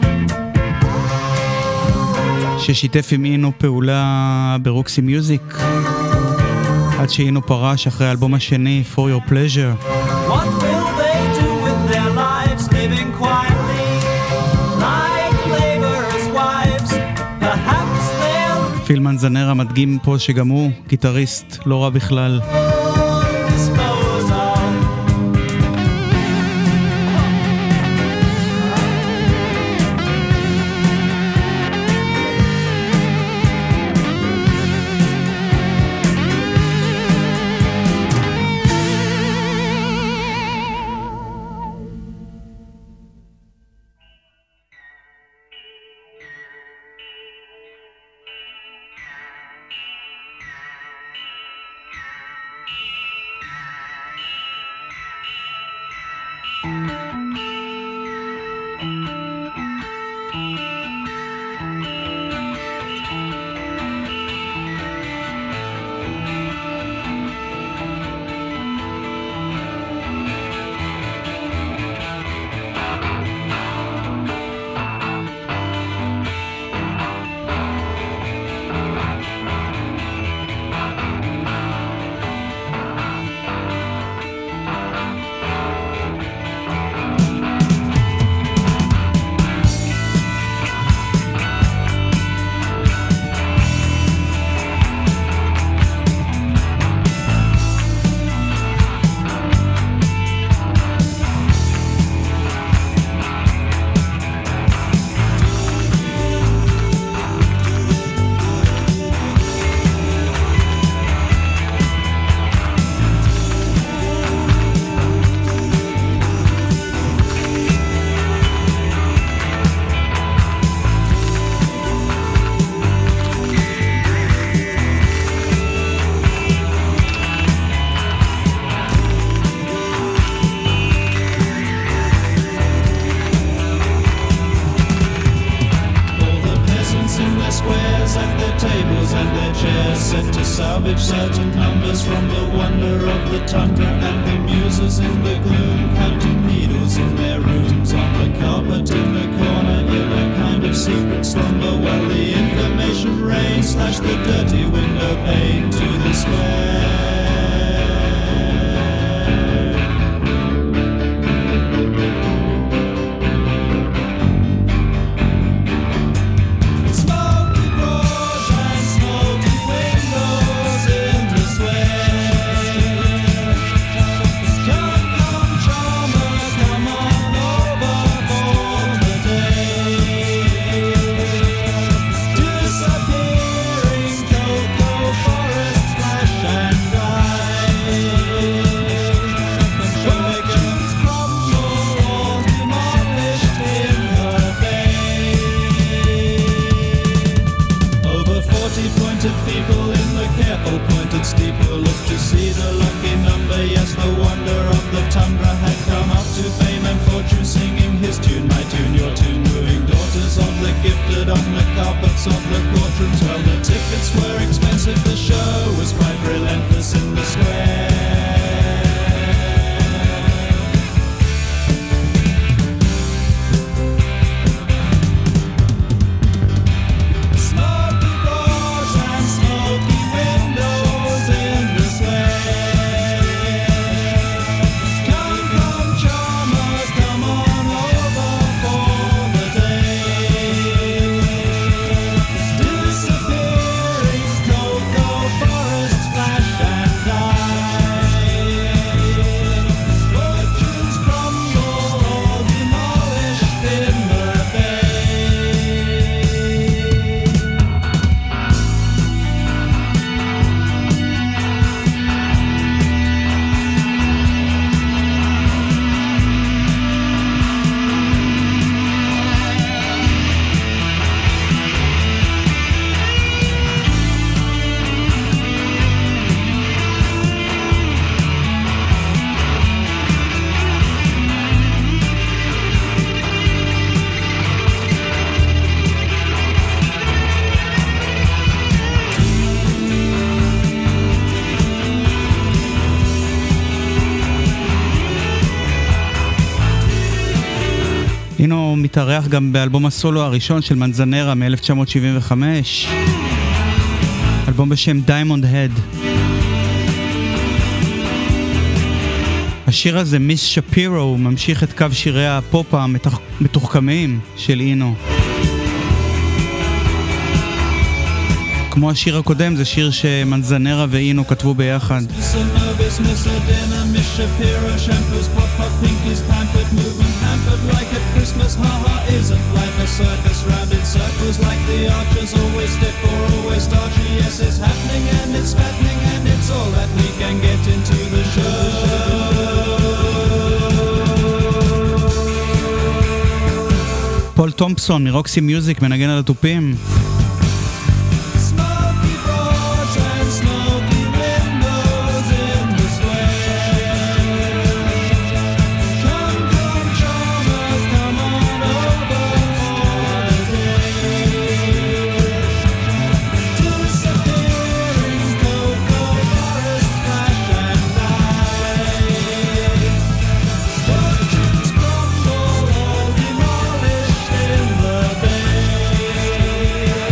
ששיתף עם אינו פעולה ברוקסי מיוזיק, עד שאינו פרש אחרי האלבום השני, For Your Pleasure. What will they do with their lives, living quietly like laborers' wives? Perhaps they'll פיל מנזנרה מדגים פה שגם הוא גיטריסט לא רע בכלל. dispose of. salvage certain numbers from the wonder of the tundra, and the muses in the gloom counting needles in their rooms on the carpet in the corner in a kind of secret slumber, while the information rain slashed the dirty window pane to the square. Disappearing, cold, cold אינו מתארח גם באלבום הסולו הראשון של מנזנרה מ-אלף תשע מאות שבעים וחמש, אלבום בשם Diamond Head. השיר הזה, מיס שפירו, ממשיך את קו שירי הפופ המתוחכמים של אינו. כמו השיר הקודם, זה שיר שמנזנרה ואינו כתבו ביחד. פול תומפסון מרוקסי מיוזיק מנגן על התופים. Yeah.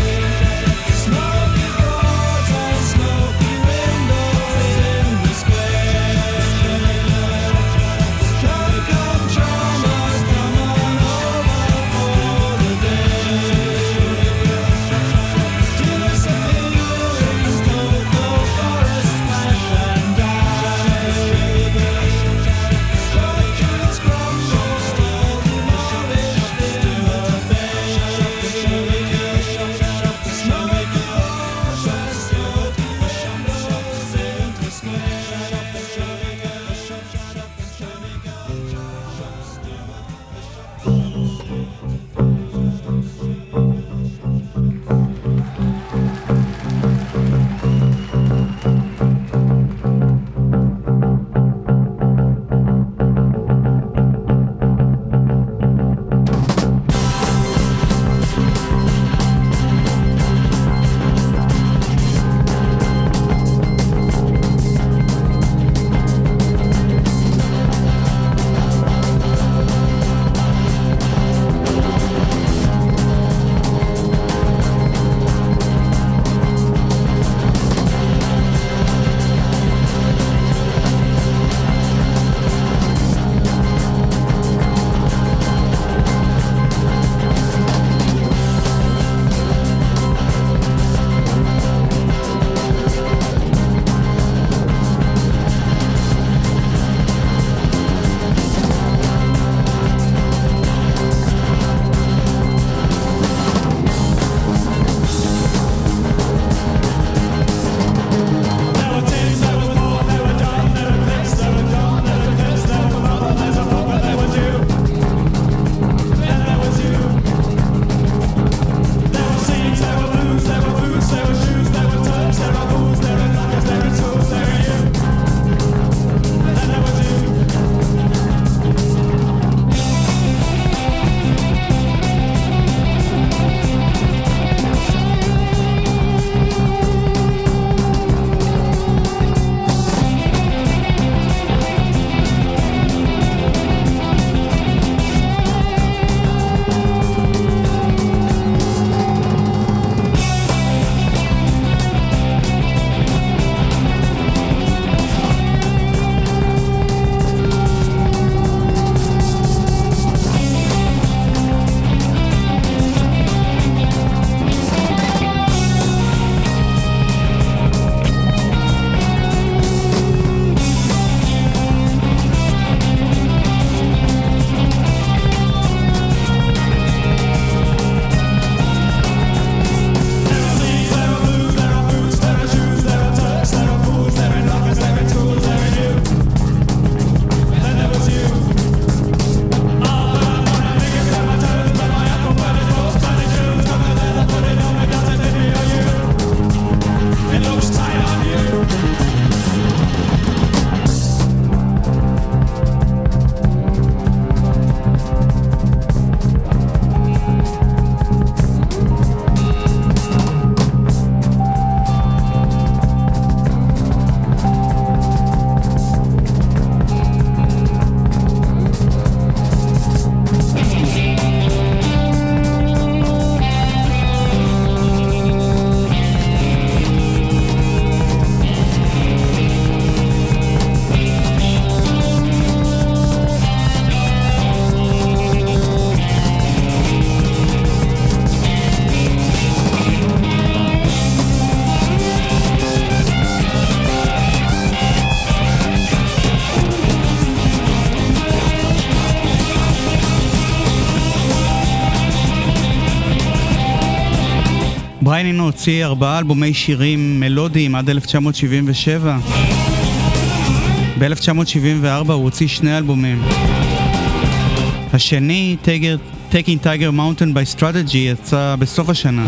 בריין אינו הוציא ארבעה אלבומי שירים מלודיים עד אלף תשע מאות שבעים ושבע. ב-אלף תשע מאות שבעים וארבע הוא הוציא שני אלבומים. השני, Taking Tiger Mountain by Strategy, יצא בסוף השנה.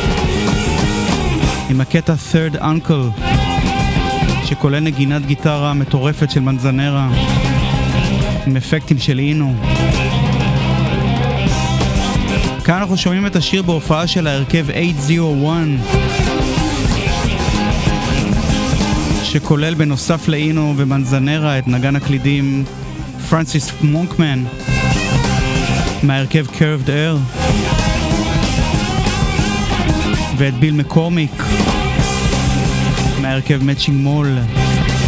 עם הקטע Third Uncle, שכולל נגינת גיטרה מטורפת של מנזנרה, עם אפקטים של אינו. כאן אנחנו שומעים את השיר בהופעה של ההרכב שמונה מאות ואחת, שכולל בנוסף לאינו ומנזנרה את נגן הקלידים פרנסיס מונקמן מההרכב Curved Air, ואת ביל מקורמיק מההרכב Matching Mall.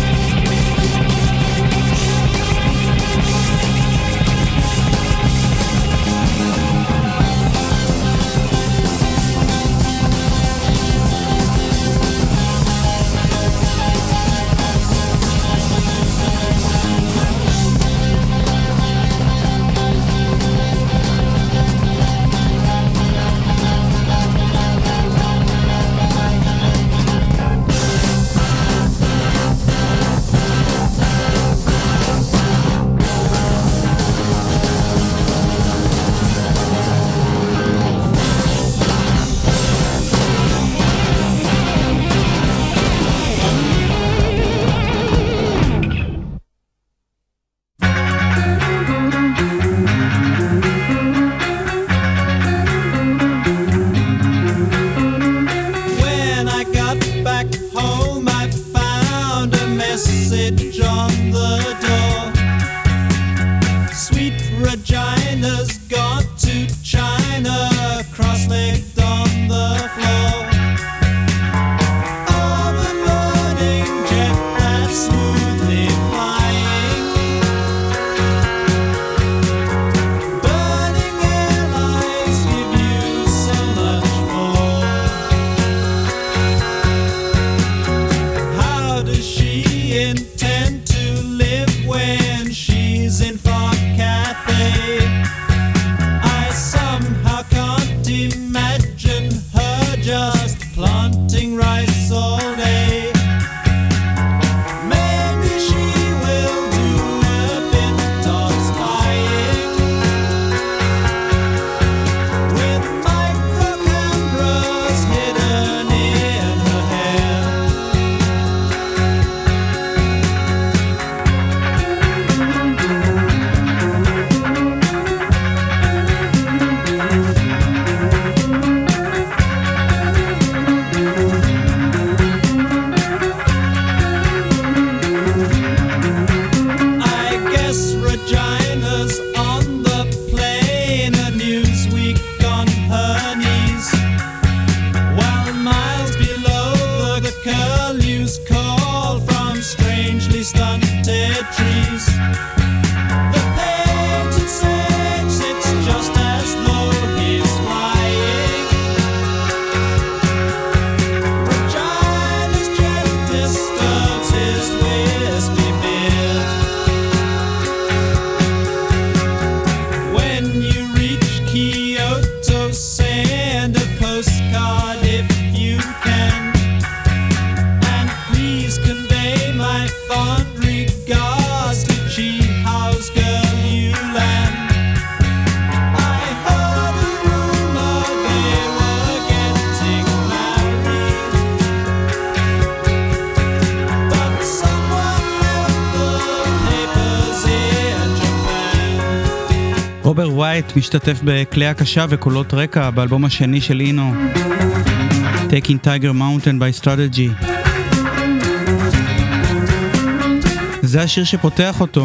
רוברט ווייט משתתף בכלי הקשה וקולות רקע באלבום השני של אינו, Taking Tiger Mountain by Strategy. זה השיר שפותח אותו,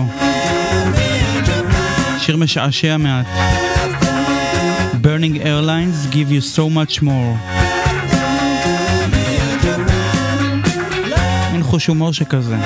שיר משעשע מעט. Burning Airlines give you so much more. אין חוש הומור שכזה.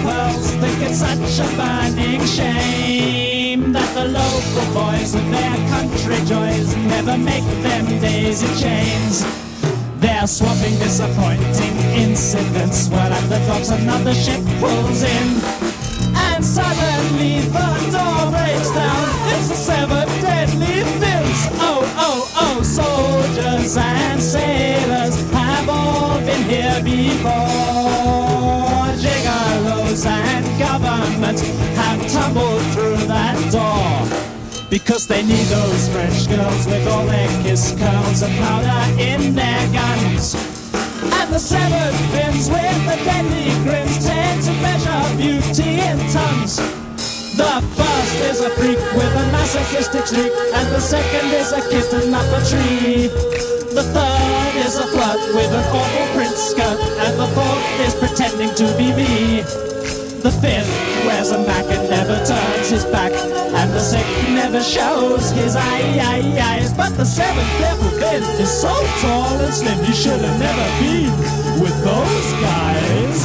Such a burning shame that the local boys with their country joys never make them daisy chains. They're swapping disappointing incidents while at the docks another ship pulls in. And suddenly the door breaks down. It's the seven deadly fins. Oh, oh, oh, soldiers and sailors have all been here before. Gigolos and governments have tumbled through that door. Because they need those French girls with all their kiss curls and powder in their guns. And the seven fins with the deadly grins tend to measure beauty in tons. The first is a freak with a masochistic streak, and the second is a kitten up a tree. The third is a flirt with an awful print skirt, and the fourth is pretending to be me. The fifth wears a mac and never turns his back, and the sixth never shows his eye, eye, eyes. But the seventh level fin is so tall and slim, you should have never been with those guys.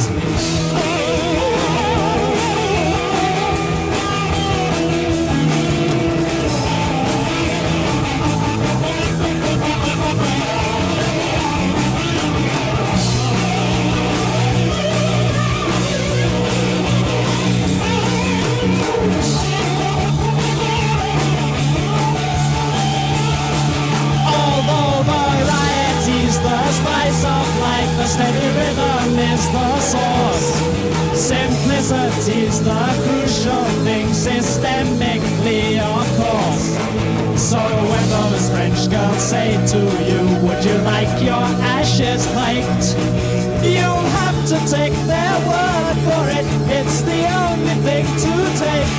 The steady rhythm is the source. Simplicity's the crucial thing, systemically, of course. So when those French girls say to you, would you like your ashes hiked? You'll have to take their word for it. It's the only thing to take.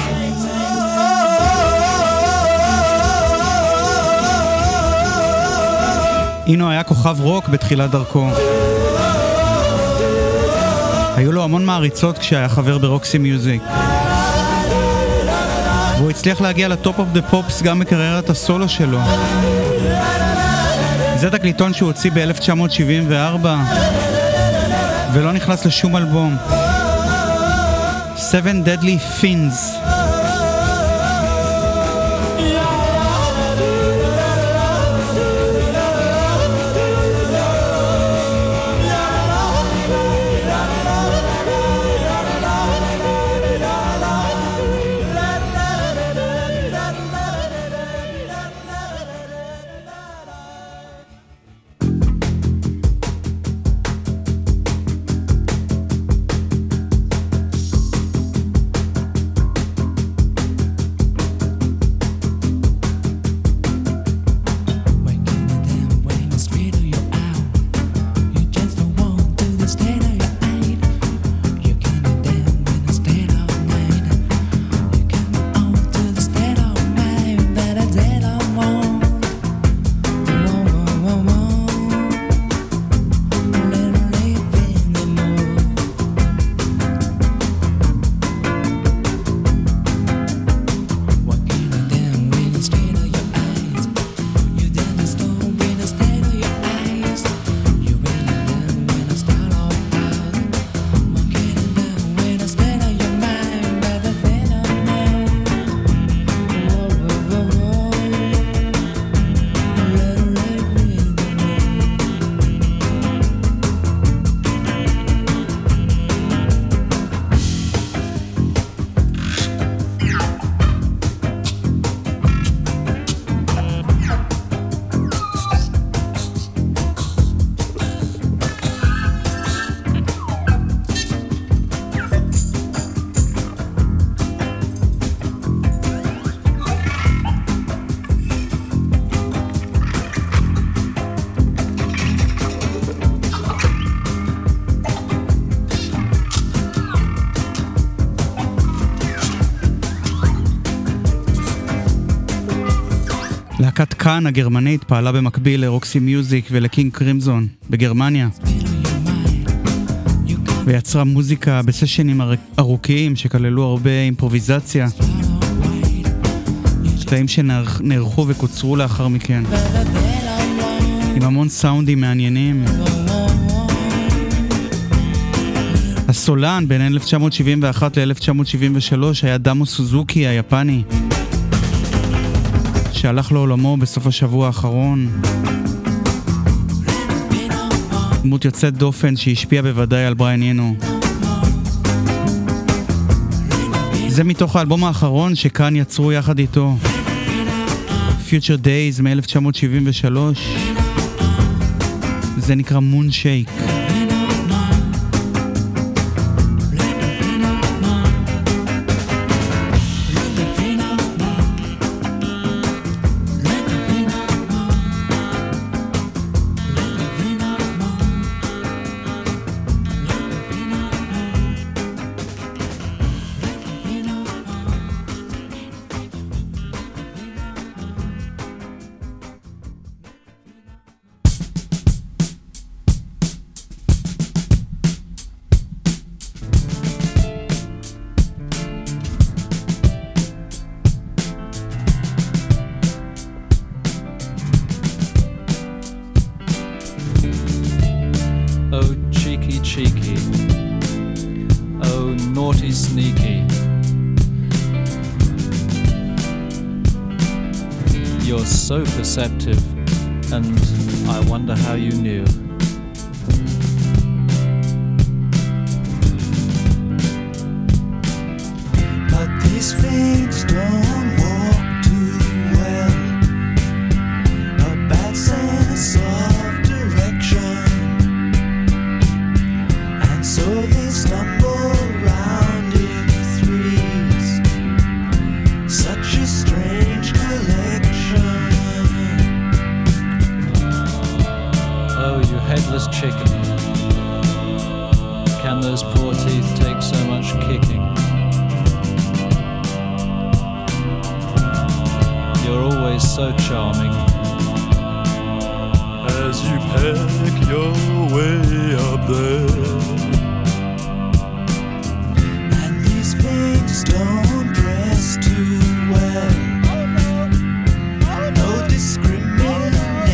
אינו היה כוכב רוק בתחילת דרכו. היו לו המון מעריצות כשהיה חבר ברוקסי מיוזיק. והוא הצליח להגיע לטופ אוף דה פופס גם בקריירת הסולו שלו. זה תקליטון שהוא הוציא ב-אלף תשע מאות שבעים וארבע ולא נכנס לשום אלבום. Seven Deadly Fins. להקת קאן הגרמנית פעלה במקביל לרוקסי מיוזיק ולקינג קרימזון בגרמניה, ויצרה מוזיקה בסשנים ארוכים שכללו הרבה אימפרוביזציה, קטעים שנערכו וקוצרו לאחר מכן, עם המון סאונדים מעניינים. הסולן בין אלף תשע מאות שבעים ואחת ל-אלף תשע מאות שבעים ושלוש היה דאמו סוזוקי היפני, שהלך לעולמו בסוף השבוע האחרון. דמות יוצאת דופן שהשפיעה בוודאי על בריאן אינו. זה מתוך האלבום האחרון שכאן יצרו יחד איתו, Future Days מ-אלף תשע מאות שבעים ושלוש. זה נקרא Moon Shake. So perceptive, and I wonder how you knew. But these fiends don't walk too well. A bad sense of direction, and so they stumble round in threes. Such a strange collection. Headless chicken. Can those poor teeth take so much kicking? You're always so charming. As you peck your way up there, and these pigs don't dress too well. No discrimination.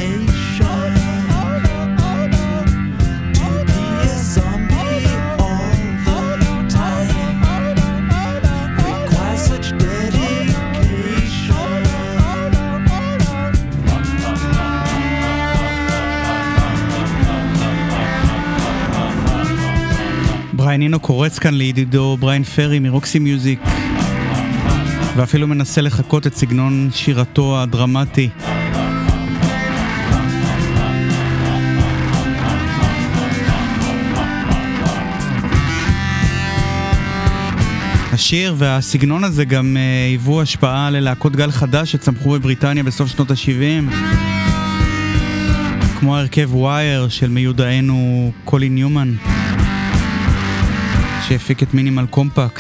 בריאן אינו קורץ כאן לידידו בריאן פרי מרוקסי מיוזיק, ואפילו מנסה לחקות את סגנון שירתו הדרמטי. השיר והסגנון הזה גם היוו השפעה ללהקות גל חדש שצמחו בבריטניה בסוף שנות ה-שבעים, כמו הרכב ווייר של מיודענו קולין ניומן, שהפיק את מינימל קומפקט.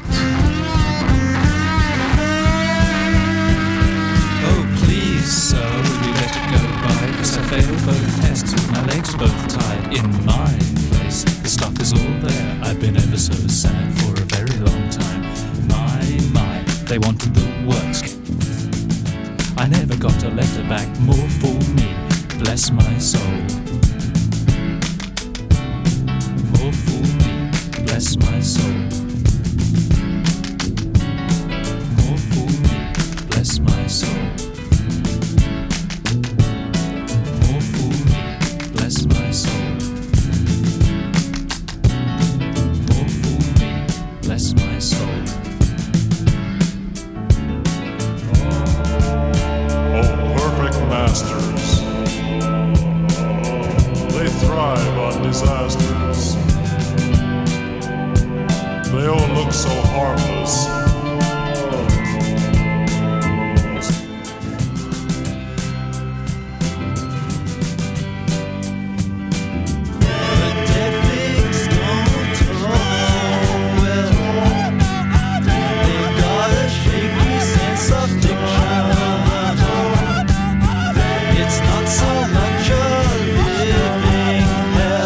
Oh please sir, will you let it go by? Cause I failed both tests with my legs both tied. In my place, the stuff is all there. I've been ever so sad for a very long time. My, my, they wanted the works. I never got a letter back, more for me, bless my soul. More for me, bless my soul. More for me, bless my soul. More for me, bless my soul. More for me, bless my soul. oh perfect masters, they thrive on disasters. They all look so harmless.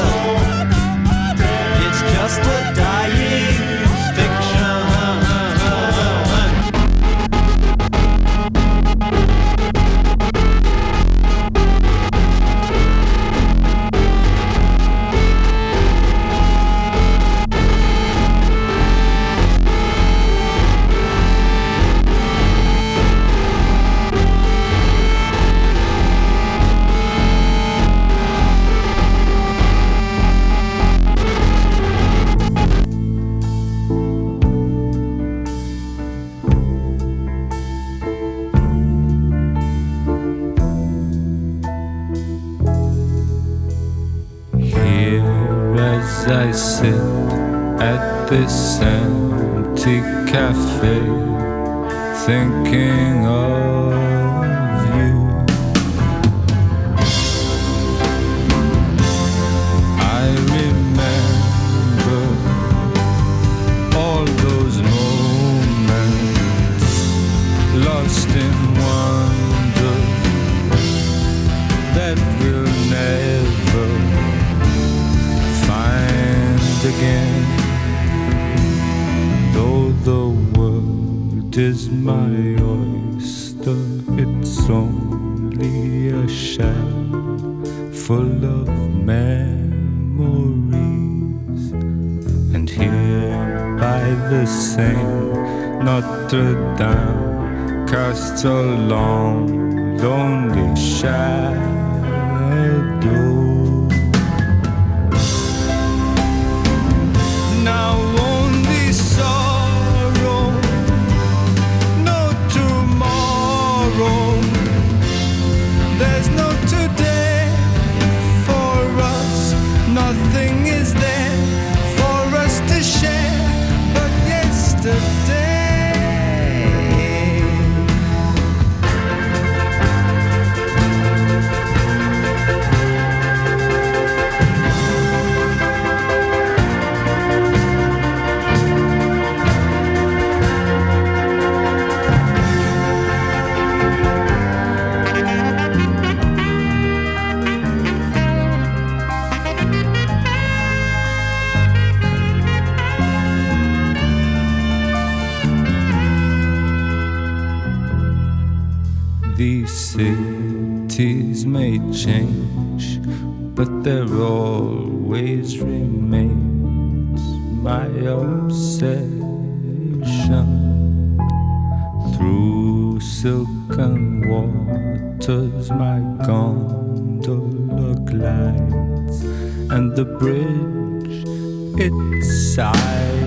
Just a dying fiction. I sit at this empty cafe, thinking of you. I remember all those moments lost in wonder that we'll never find again. Though the world is my oyster, it's only a shell full of memories. And here by the Seine, Notre Dame casts a long, lonely shadow. Now only sorrow, no tomorrow. There's no today for us. Nothing is there for us to share but yesterday. These cities may change, but there always remains my obsession. Through silken waters my gondola glides, and the bridge it sighs.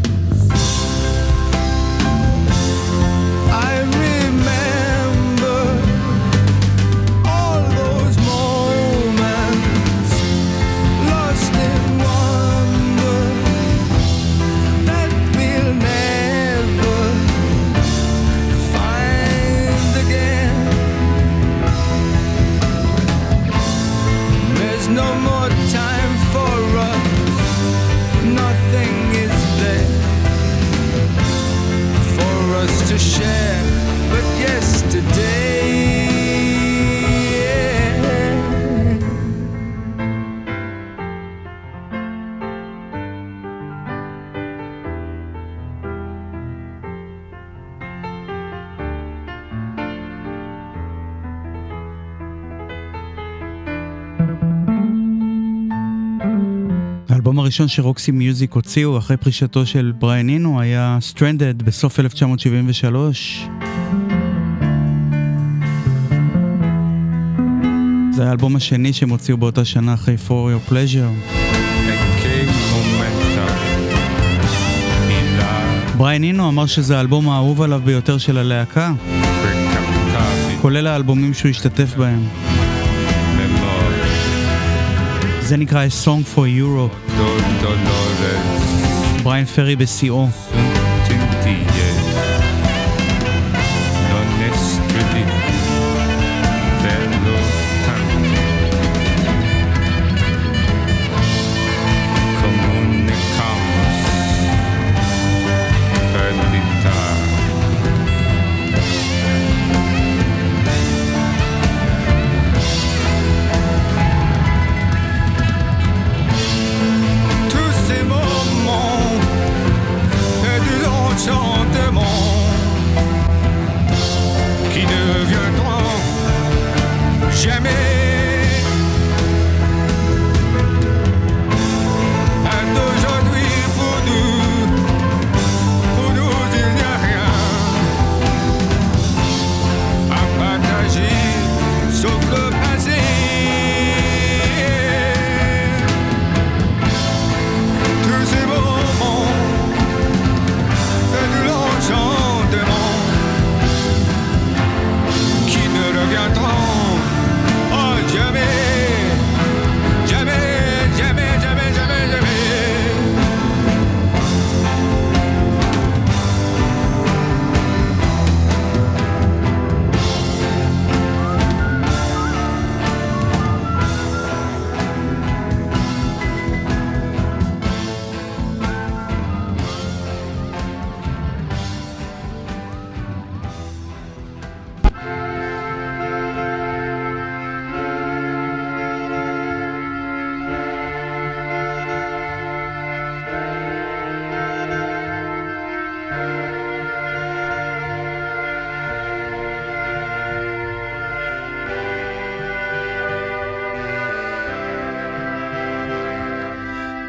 To share, but yesterday. האלבום הראשון שרוקסי מיוזיק הוציאו אחרי פרישתו של בריאן אינו היה Stranded בסוף אלף תשע מאות שבעים ושלוש. זה האלבום השני שהם הוציאו באותה שנה אחרי For Your Pleasure. בריאן אינו אמר שזה האלבום האהוב עליו ביותר של הלהקה, כולל האלבומים שהוא השתתף בהם. זה נקרא A Song for Europe. בריאן פרי בשיאו. Tous ces moments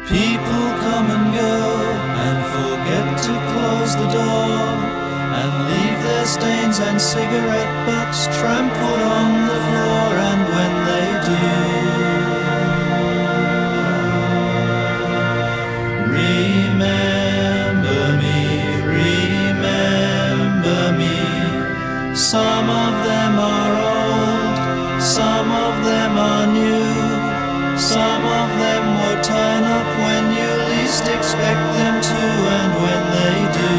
People come and go and forget to close the door and leave their stains and cigarette butts trampled on the floor, and when they do, remember me, remember me. Some of them are old, some of them are new, some of them will turn up when you least expect them to, and when they do,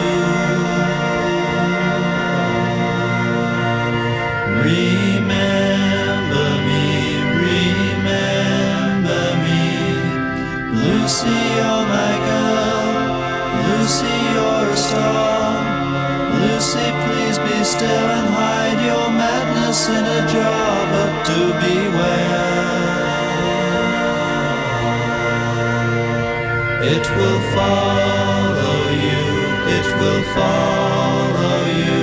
remember me, remember me. Lucy, you're my girl, Lucy, you're a star. Lucy, please be still and hide your madness in a jar, but do beware. It will follow you, it will follow you.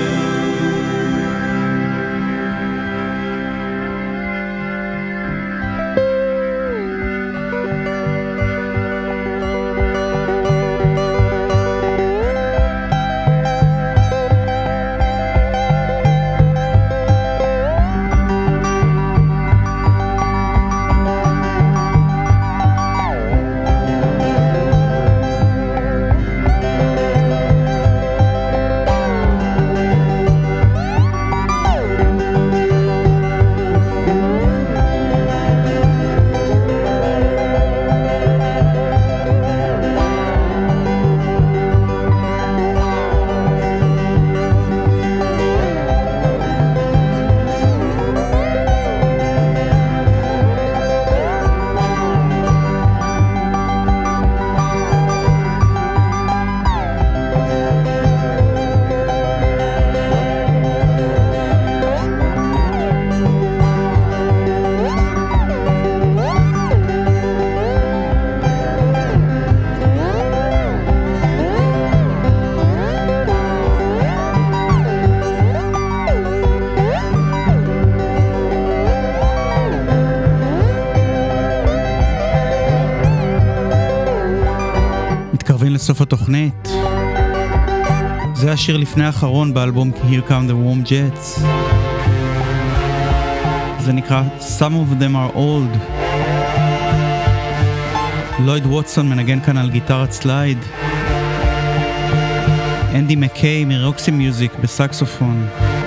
סוף התוכנית. זה השיר לפני האחרון באלבום Here Come the Warm Jets. זה נקרא Some of them are old. לויד ווטסון מנגן כאן על גיטרת סלייד. אנדי מקיי מרוקסי מיוזיק בסקסופון.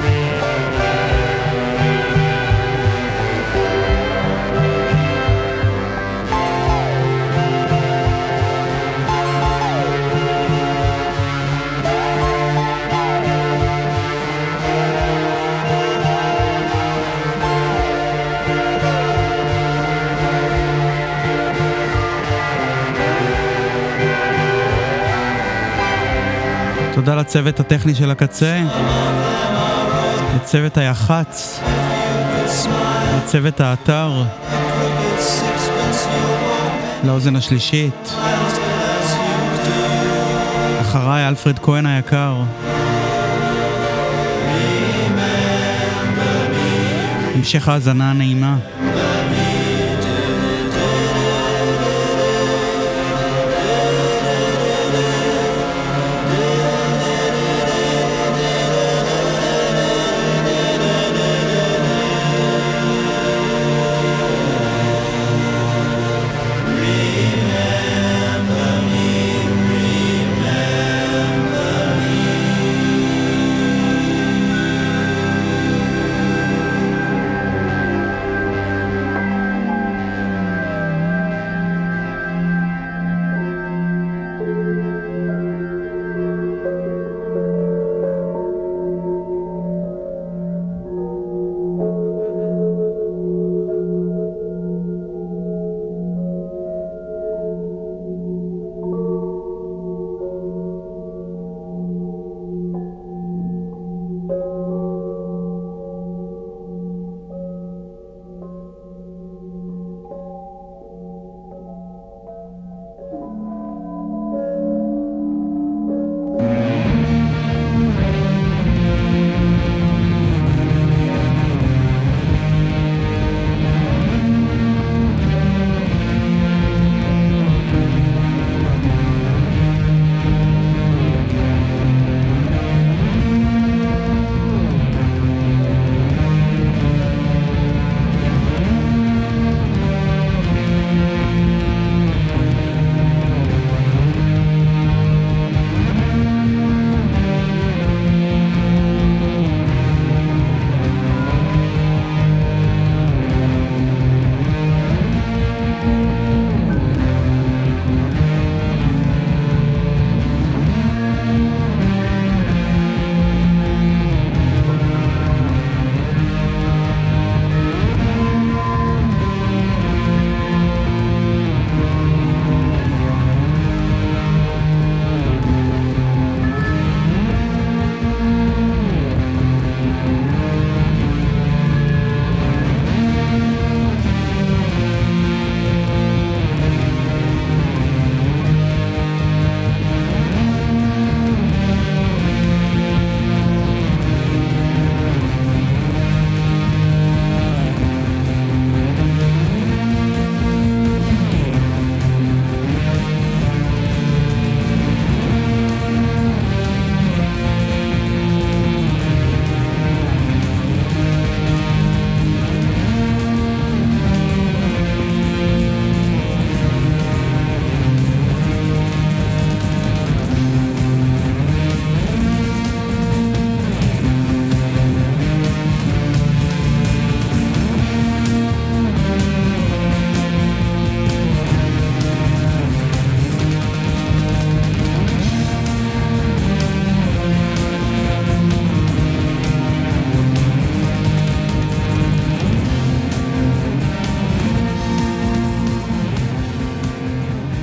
תודה לצוות הטכני של הקצה, לצוות היח"צ, לצוות האתר, לאוזן השלישית, אחריי אלפרד כהן היקר. המשך האזנה נעימה.